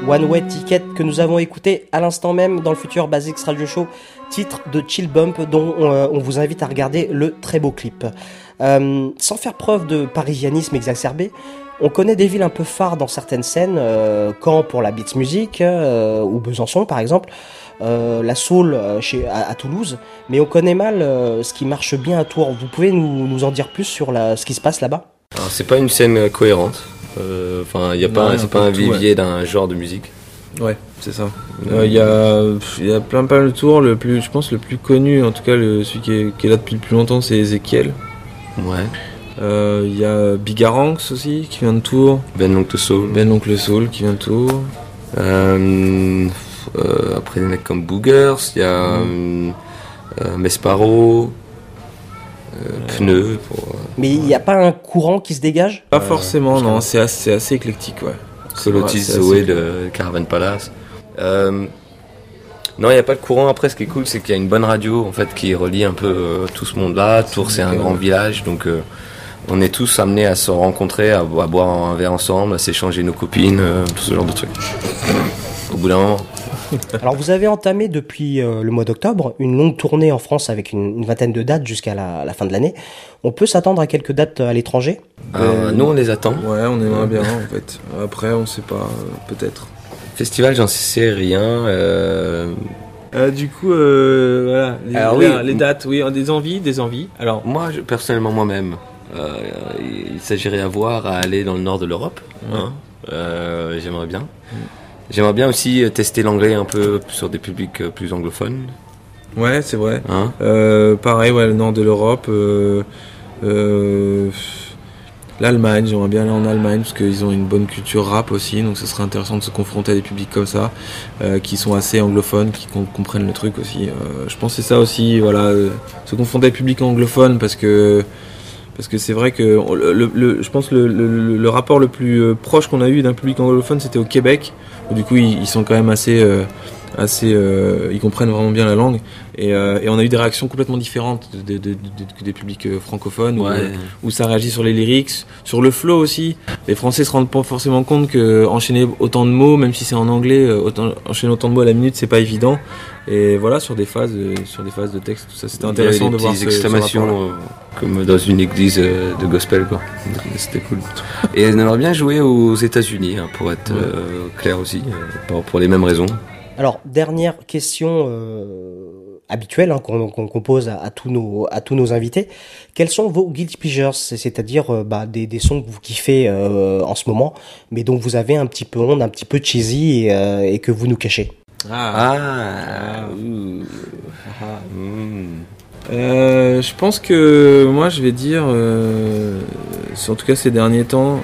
One Way Ticket que nous avons écouté à l'instant même dans le Future Basics Radio Show, titre de Chill Bump dont on, euh, on vous invite à regarder le très beau clip. Euh, sans faire preuve de parisianisme exacerbé, on connaît des villes un peu phares dans certaines scènes, euh, Caen pour la beats music, euh, ou Besançon par exemple, euh, la soul euh, chez, à, à Toulouse, mais on connaît mal euh, ce qui marche bien à Tours. Vous pouvez nous, nous en dire plus sur la, ce qui se passe là-bas ? Alors, c'est pas une scène cohérente, enfin, euh, y a pas, c'est pas un vivier ouais. d'un genre de musique. Ouais, c'est ça. Il euh, y, a, y a plein pas de tours, le plus, je pense le plus connu, en tout cas le, celui qui est, qui est là depuis le plus longtemps, c'est Ezekiel. Ouais. Il euh, y a Bigaranx aussi qui vient de Tours. Ben l'Oncle Soul. Ben l'Oncle Soul qui vient de Tours. Euh, euh, après des mecs comme Boogers, il y a mmh. euh, Mesparo, euh, Pneu. Pour, euh, Mais il n'y a pas un courant qui se dégage ? Pas euh, forcément, non, c'est assez, c'est assez éclectique, ouais. Colotis Zoé de Caravan Palace. Euh, non, il n'y a pas de courant. Après, ce qui est cool, c'est qu'il y a une bonne radio en fait qui relie un peu euh, tout ce monde-là. Tours, c'est un grand village, donc euh, on est tous amenés à se rencontrer, à, à boire un verre ensemble, à s'échanger nos copines, euh, tout ce genre de trucs. Au bout d'un moment. Alors, vous avez entamé depuis euh, le mois d'octobre une longue tournée en France avec une, une vingtaine de dates jusqu'à la, la fin de l'année. On peut s'attendre à quelques dates à l'étranger ? euh, Nous, on les attend. Ouais, on aimerait bien en fait. Après, on sait pas, euh, peut-être. Festival, j'en sais rien. Euh... Euh, du coup, euh, voilà, les, Alors, les, oui. les dates, oui, des envies, des envies. Alors, moi, je, personnellement, moi-même, euh, il s'agirait à voir à aller dans le nord de l'Europe. Ouais. Hein, euh, j'aimerais bien. Mm. J'aimerais bien aussi tester l'anglais un peu sur des publics plus anglophones. Ouais, c'est vrai. Hein euh, pareil, ouais, le nord de l'Europe. Euh, euh, L'Allemagne, j'aimerais bien aller en Allemagne parce qu'ils ont une bonne culture rap aussi, donc ce serait intéressant de se confronter à des publics comme ça, euh, qui sont assez anglophones, qui com- comprennent le truc aussi. Euh, je pense que c'est ça aussi, voilà, euh, se confronter à des publics anglophones parce que parce que c'est vrai que le, le, le, je pense que le, le, le rapport le plus proche qu'on a eu d'un public anglophone, c'était au Québec, où du coup ils, ils sont quand même assez euh, assez euh, ils comprennent vraiment bien la langue et, euh, et on a eu des réactions complètement différentes de, de, de, de, des publics francophones ouais. où, où ça réagit sur les lyrics, sur le flow aussi. Les Français se rendent pas forcément compte que enchaîner autant de mots, même si c'est en anglais, autant, enchaîner autant de mots à la minute, c'est pas évident. Et voilà, sur des phases sur des phases de texte, tout ça, c'était intéressant de voir des exclamations ce euh, comme dans une église euh, de gospel, quoi. C'était cool. Et on aimerait bien jouer aux États-Unis, hein, pour être ouais. euh, clair aussi, euh, pour, pour les mêmes raisons. Alors, dernière question euh, habituelle hein, qu'on, qu'on, qu'on pose à, à tous nos à tous nos invités. Quels sont vos guilty pleasures, c'est-à-dire euh, bah, des, des sons que vous kiffez euh, en ce moment, mais dont vous avez un petit peu honte, un petit peu cheesy et, euh, et que vous nous cachez. Ah. Ah. ah. ah. Mmh. Euh, je pense que moi, je vais dire, euh, en tout cas ces derniers temps.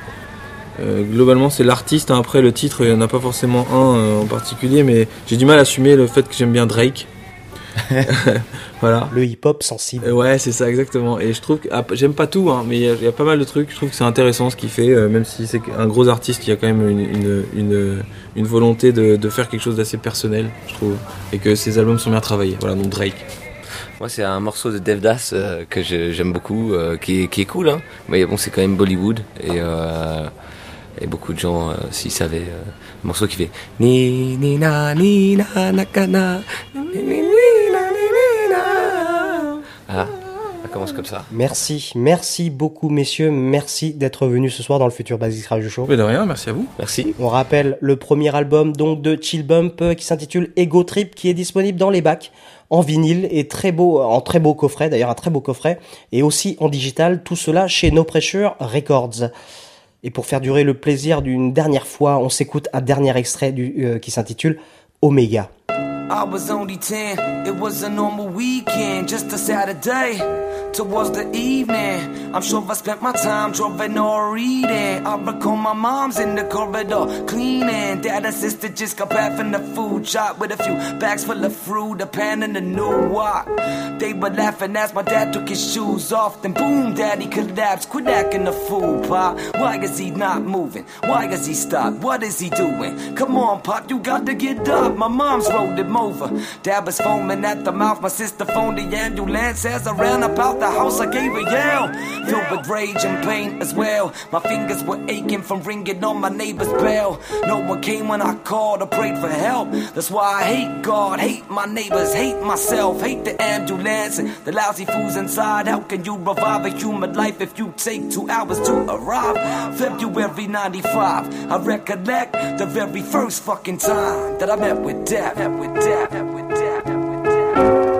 Euh, globalement c'est l'artiste, hein. Après le titre il n'y en a pas forcément un euh, en particulier, mais j'ai du mal à assumer le fait que j'aime bien Drake. Voilà. Le hip-hop sensible. Euh, ouais, c'est ça exactement. Et je trouve que ah, j'aime pas tout, hein, mais il y, y a pas mal de trucs. Je trouve que c'est intéressant ce qu'il fait, euh, même si c'est un gros artiste, il y a quand même une, une, une, une volonté de, de faire quelque chose d'assez personnel, je trouve, et que ses albums sont bien travaillés. Voilà, donc Drake. Moi, c'est un morceau de Devdas euh, que je, j'aime beaucoup, euh, qui, est, qui est cool, hein. Mais bon, c'est quand même Bollywood et euh, et beaucoup de gens, euh, s'ils savaient, euh, un morceau qui fait ni ni na ni na nakana ni ni ni na ni ni na. Ah, ça commence comme ça. Merci, merci beaucoup messieurs, merci d'être venus ce soir dans le Future Basics Radio Show. Mais de rien, merci à vous. Merci. On rappelle le premier album donc de Chill Bump qui s'intitule Ego Trip, qui est disponible dans les bacs en vinyle et très beau, en très beau coffret, d'ailleurs un très beau coffret, et aussi en digital, tout cela chez No Pressure Records. Et pour faire durer le plaisir d'une dernière fois, on s'écoute un dernier extrait du, euh, qui s'intitule Omega. I was only ten, it was a normal weekend, just a Saturday. Towards the evening, I'm sure I spent my time drawing or reading. I recall my mom's in the corridor cleaning. Dad and sister just got back from the food shop with a few bags full of fruit, a pan and a new wok. They were laughing as my dad took his shoes off. Then boom, daddy collapsed, quit acting the fool, Pop. Why is he not moving? Why has he stopped? What is he doing? Come on, Pop, you got to get up. My mom's rolled him over. Dad was foaming at the mouth. My sister phoned the ambulance as I ran about left the house, I gave a yell, filled with rage and pain as well. My fingers were aching from ringing on my neighbor's bell. No one came when I called or prayed for help. That's why I hate God, hate my neighbors, hate myself, hate the ambulance and the lousy fools inside. How can you revive a human life if you take two hours to arrive? February ninety-five, I recollect the very first fucking time that I met with death, met with death, met with death, met with death.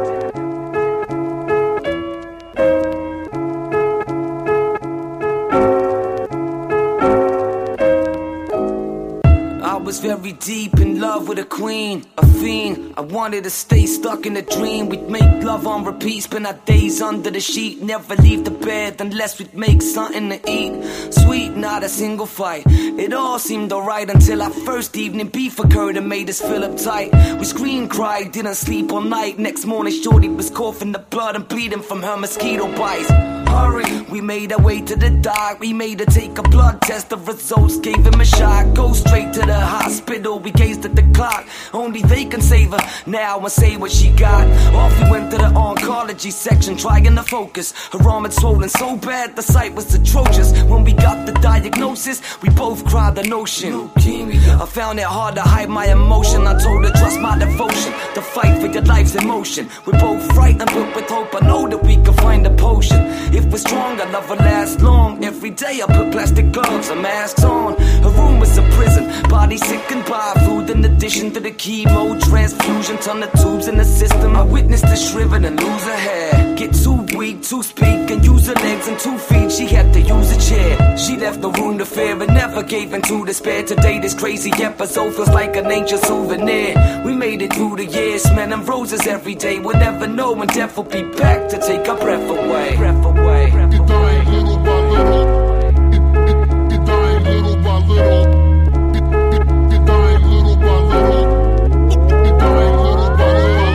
I was very deep in love with a queen, a fiend. I wanted to stay stuck in a dream. We'd make love on repeat, spend our days under the sheet. Never leave the bed unless we'd make something to eat. Sweet, not a single fight. It all seemed alright until our first evening beef occurred and made us feel uptight. We screamed, cried, didn't sleep all night. Next morning shorty was coughing the blood and bleeding from her mosquito bites. Hurry, we made our way to the doc. We made her take a blood test. The results gave him a shot. Go straight to the hospital. We gazed at the clock. Only they can save her now and say what she got. Off we went to the oncology section, trying to focus. Her arm had swollen so bad the sight was atrocious. When we got the diagnosis, we both cried the notion. I found it hard to hide my emotion. I told her trust my devotion. The fight for your life's emotion. We're both frightened but with hope I know that we can find a potion. If we're strong, our love will last long. Every day I put plastic gloves and masks on. Her room was a prison, body sickened by food in addition to the chemo transfusion. Ton of tubes in the system. I witnessed her shrivel and lose her hair. Get too weak to speak and use her legs and two feet. She had to use a chair. She left the room to fear and never gave in to despair. Today this crazy episode feels like an ancient souvenir. We made it through the years, smelling roses every day. We'll never know when death will be back to take our breath away. Breath away. You're dying little by little. You're dying little by little. You're dying little by little. You're dying little by little.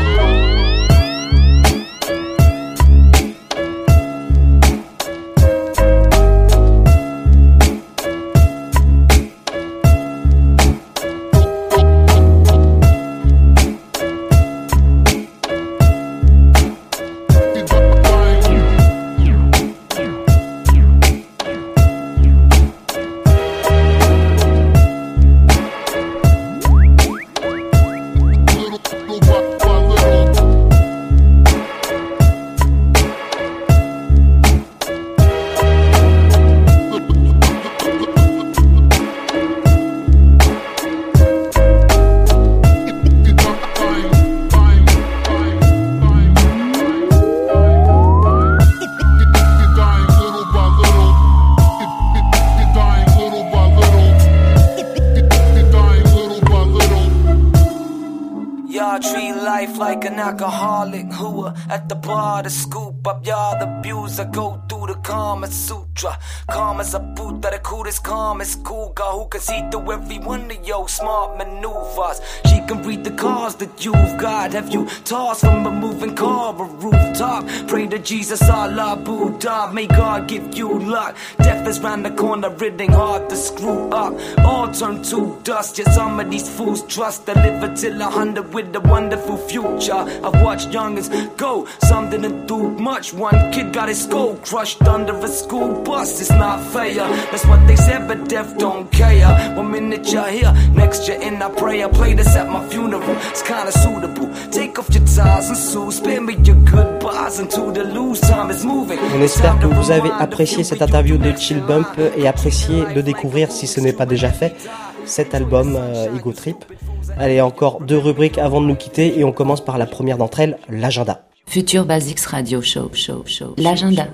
Like an alcoholic who are at the bar to scoop up y'all the abuser. Go through the Kama Sutra. Karma's a Buddha, the coolest, calmest cougar who can see through every one of your smart maneuvers. She can read the cars that you've got. Have you tossed from a moving car or rooftop? Pray to Jesus, Allah, Buddha. May God give you luck. Death is round the corner, it ain't hard to screw up. All turn to dust, yeah, some of these fools trust to live until a hundred with a wonderful future. I've watched youngins go, some didn't do much. One kid got his skull crushed under a school bus. It's not fair, that's what they said, but death don't care. One minute you're here, next you're in. I pray I play this at my funeral, it's kinda suitable. Take off your ties and shoes, spare me your goodbyes until the lose time is moving. On espère que vous avez apprécié cette interview de Chill Bump et apprécié de découvrir, si ce n'est pas déjà fait, cet album euh, Ego Trip. Allez, encore deux rubriques avant de nous quitter et on commence par la première d'entre elles, l'agenda. Future Basics Radio Show, show, show. L'agenda.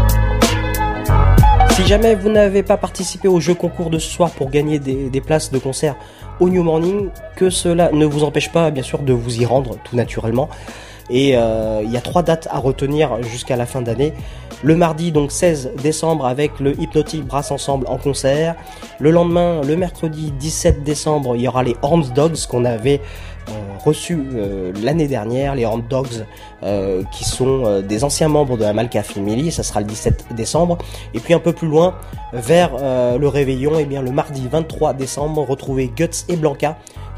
Si jamais vous n'avez pas participé au jeu concours de ce soir pour gagner des, des places de concert au New Morning, que cela ne vous empêche pas bien sûr de vous y rendre tout naturellement. Et il euh, y a trois dates à retenir jusqu'à la fin d'année. Le mardi donc seize décembre avec le Hypnotic Brass Ensemble en concert. Le lendemain, le mercredi dix-sept décembre, il y aura les Horns Dogs qu'on avait euh, reçus euh, l'année dernière. Les Horns Dogs euh, qui sont euh, des anciens membres de la Malka Family. Ça sera le dix-sept décembre. Et puis un peu plus loin, vers euh, le réveillon, et bien le mardi vingt-trois décembre, retrouvez Guts et Blanca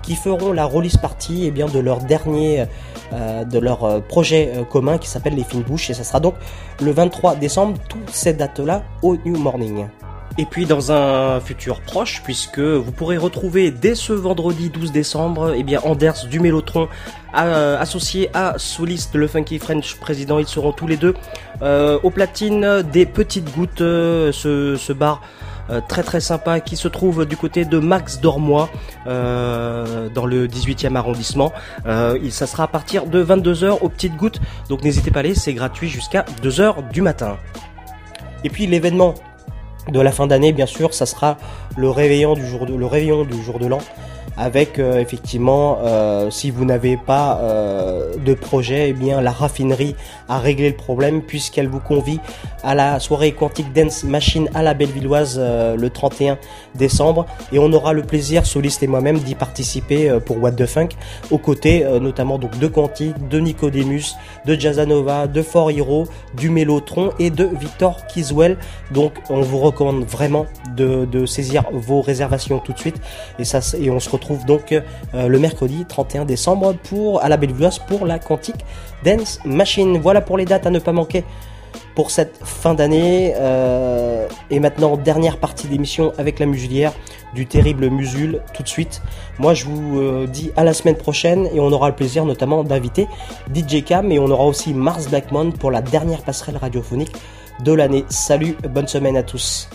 qui feront la release party eh bien, de leur dernier, euh, de leur euh, projet euh, commun qui s'appelle les Fine Bouches, et ça sera donc le vingt-trois décembre, toutes ces dates-là au New Morning. Et puis dans un futur proche, puisque vous pourrez retrouver dès ce vendredi douze décembre, eh bien Anders du Mélotron, euh, associé à Souliste, le Funky French président, ils seront tous les deux euh, au platine des Petites Gouttes, euh, ce, ce bar euh, très très sympa qui se trouve du côté de Max Dormois, euh, dans le dix-huitième arrondissement. Euh, il, ça sera à partir de vingt-deux heures aux Petites Gouttes, donc n'hésitez pas à aller, c'est gratuit jusqu'à deux heures du matin. Et puis l'événement de la fin d'année, bien sûr, ça sera le réveillon du jour de, le réveillon du jour de l'an, avec euh, effectivement, euh, si vous n'avez pas euh, de projet, eh bien la raffinerie a réglé le problème puisqu'elle vous convie à la soirée Quantic Dance Machine à la Bellevilloise euh, le trente et un décembre, et on aura le plaisir, Souliste et moi-même, d'y participer euh, pour What the Funk, aux côtés euh, notamment donc de Quantic, de Nicodemus, de Jazzanova, de For Hero, du Mélotron et de Victor Kiswell. Donc on vous recommande vraiment de, de saisir vos réservations tout de suite, et ça et on se retrouve donc euh, le mercredi trente et un décembre pour à la Bellevilloise pour la Quantic Dance Machine. Voilà pour les dates à ne pas manquer pour cette fin d'année. Euh, et maintenant, dernière partie d'émission avec la Muselière du terrible Musul tout de suite. Moi je vous euh, dis à la semaine prochaine, et on aura le plaisir notamment d'inviter D J Cam, et on aura aussi Mars Blackmon pour la dernière passerelle radiophonique de l'année. Salut, bonne semaine à tous.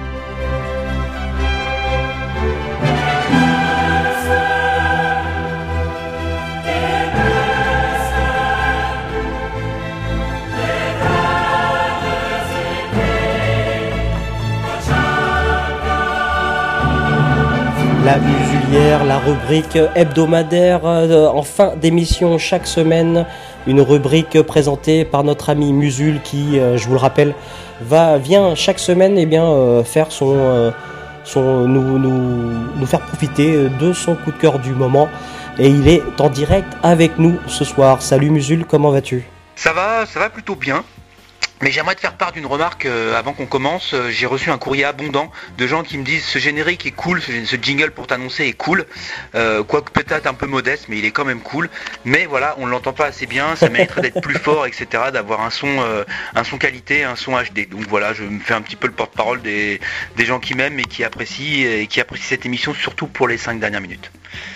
La Musulière, la rubrique hebdomadaire euh, en fin d'émission chaque semaine, une rubrique présentée par notre ami Musul qui, euh, je vous le rappelle, va vient chaque semaine eh bien euh, faire son, euh, son nous, nous nous faire profiter de son coup de cœur du moment, et il est en direct avec nous ce soir. Salut Musul, comment vas-tu ? Ça va, ça va plutôt bien. Mais j'aimerais te faire part d'une remarque euh, avant qu'on commence. Euh, j'ai reçu un courrier abondant de gens qui me disent ce générique est cool, ce, ce jingle pour t'annoncer est cool, euh, quoique peut-être un peu modeste, mais il est quand même cool. Mais voilà, on l'entend pas assez bien, ça mériterait d'être plus fort, et cetera, d'avoir un son, euh, un son qualité, un son H D. Donc voilà, je me fais un petit peu le porte-parole des, des gens qui m'aiment et qui apprécient, et qui apprécient cette émission, surtout pour les cinq dernières minutes.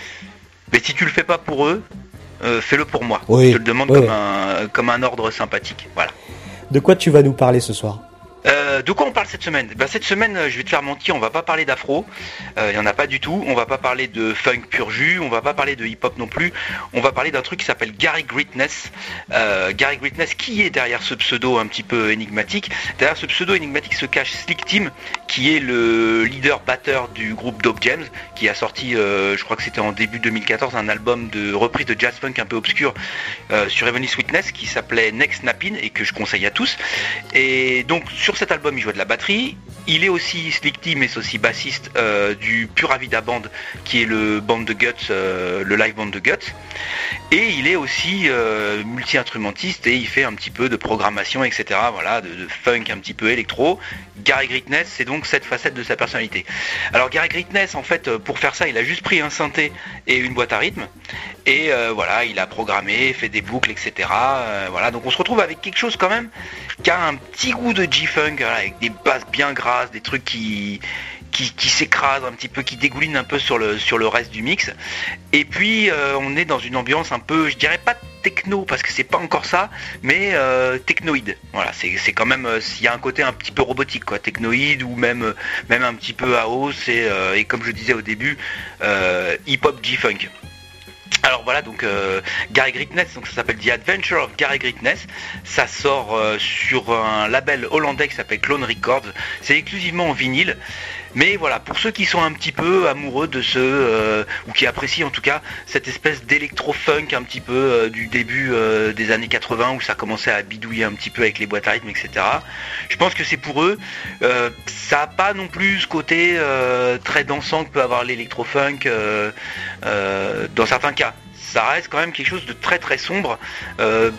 Mais si tu le fais pas pour eux, euh, fais-le pour moi. Oui, je te le demande oui. comme un, comme un ordre sympathique. Voilà. De quoi tu vas nous parler ce soir ? Euh, de quoi on parle cette semaine ? Ben, cette semaine, je vais te faire mentir, on va pas parler d'afro, il euh, y en a pas du tout, on va pas parler de funk pur jus, on va pas parler de hip-hop non plus, on va parler d'un truc qui s'appelle Gary Greatness. Euh, Gary Greatness, qui est derrière ce pseudo un petit peu énigmatique ? Derrière ce pseudo énigmatique se cache Slick Tim, qui est le leader batteur du groupe Dope James, qui a sorti, euh, je crois que c'était en début deux mille quatorze, un album de reprise de jazz funk un peu obscur euh, sur Heavenly Sweetness qui s'appelait Next Snappin' et que je conseille à tous. Et donc sur cet album, il jouait de la batterie. Il est aussi Slick Tim, mais c'est aussi bassiste euh, du Pura Vida Band, qui est le band de Guts, euh, le live band de Guts. Et il est aussi euh, multi-instrumentiste, et il fait un petit peu de programmation, et cetera. Voilà, de, de funk un petit peu électro. Gary Greatness, c'est donc cette facette de sa personnalité. Alors Gary Greatness, en fait, pour faire ça, il a juste pris un synthé et une boîte à rythme. Et euh, voilà, il a programmé, fait des boucles, et cetera. Euh, voilà, donc on se retrouve avec quelque chose quand même qui a un petit goût de G-Funk, voilà, avec des basses bien grasses, des trucs qui, qui, qui s'écrasent un petit peu, qui dégoulinent un peu sur le, sur le reste du mix. Et puis euh, on est dans une ambiance un peu, je dirais pas techno, parce que c'est pas encore ça, mais euh, technoïde. Voilà, c'est, c'est quand même, il y a un côté un petit peu robotique, quoi, technoïde, ou même, même un petit peu house, et, euh, et comme je disais au début, euh, hip-hop G-Funk. Alors voilà, donc euh, Gary Greatness, donc ça s'appelle The Adventure of Gary Greatness. Ça sort euh, sur un label hollandais qui s'appelle Clone Records. C'est exclusivement en vinyle. Mais voilà, pour ceux qui sont un petit peu amoureux de ce, euh, ou qui apprécient en tout cas cette espèce d'électro-funk un petit peu euh, du début euh, des années quatre-vingts, où ça commençait à bidouiller un petit peu avec les boîtes à rythme, et cetera. Je pense que c'est pour eux. Euh, ça n'a pas non plus ce côté euh, très dansant que peut avoir l'électro-funk euh, euh, dans certains cas. Ça reste quand même quelque chose de très très sombre. Euh,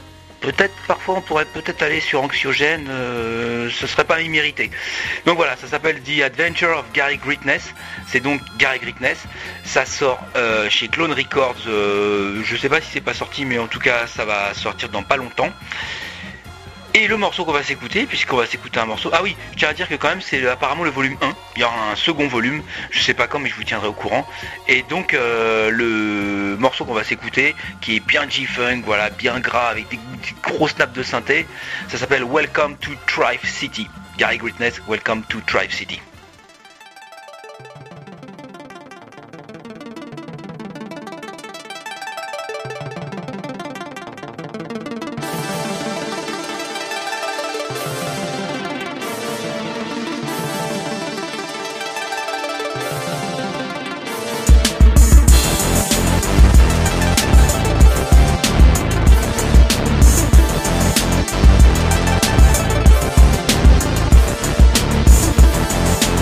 peut-être parfois on pourrait peut-être aller sur Anxiogène, euh, ce serait pas immérité. Donc voilà, ça s'appelle The Adventure of Gary Greatness, c'est donc Gary Greatness, ça sort euh, chez Clone Records, euh, je sais pas si c'est pas sorti, mais en tout cas ça va sortir dans pas longtemps. Et le morceau qu'on va s'écouter, puisqu'on va s'écouter un morceau, ah oui, je tiens à dire que quand même c'est apparemment le volume un, il y aura un second volume, je sais pas quand mais je vous tiendrai au courant. Et donc euh, le morceau qu'on va s'écouter, qui est bien G-Funk, voilà, bien gras, avec des, des gros snaps de synthé, ça s'appelle Welcome to Thrive City. Gary Greatness, Welcome to Thrive City. We'll be right back.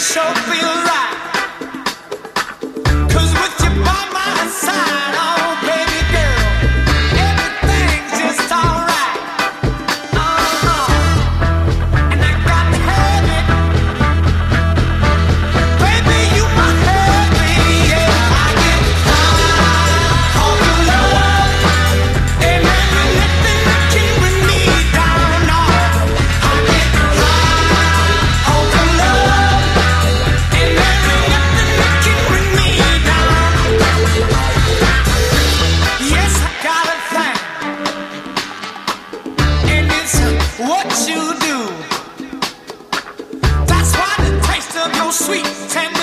sure feel right. 'Cause with you by my side, oh baby girl, everything's just alright. Uh-huh. And I got to have it. Baby, you my heavy, yeah. I get high on your love, and there ain't nothing that can bring me down, no. I get high on your love, and there ain't nothing that can bring me down. Yes, I got a thing, and it's what you do. That's why the taste of your sweet tender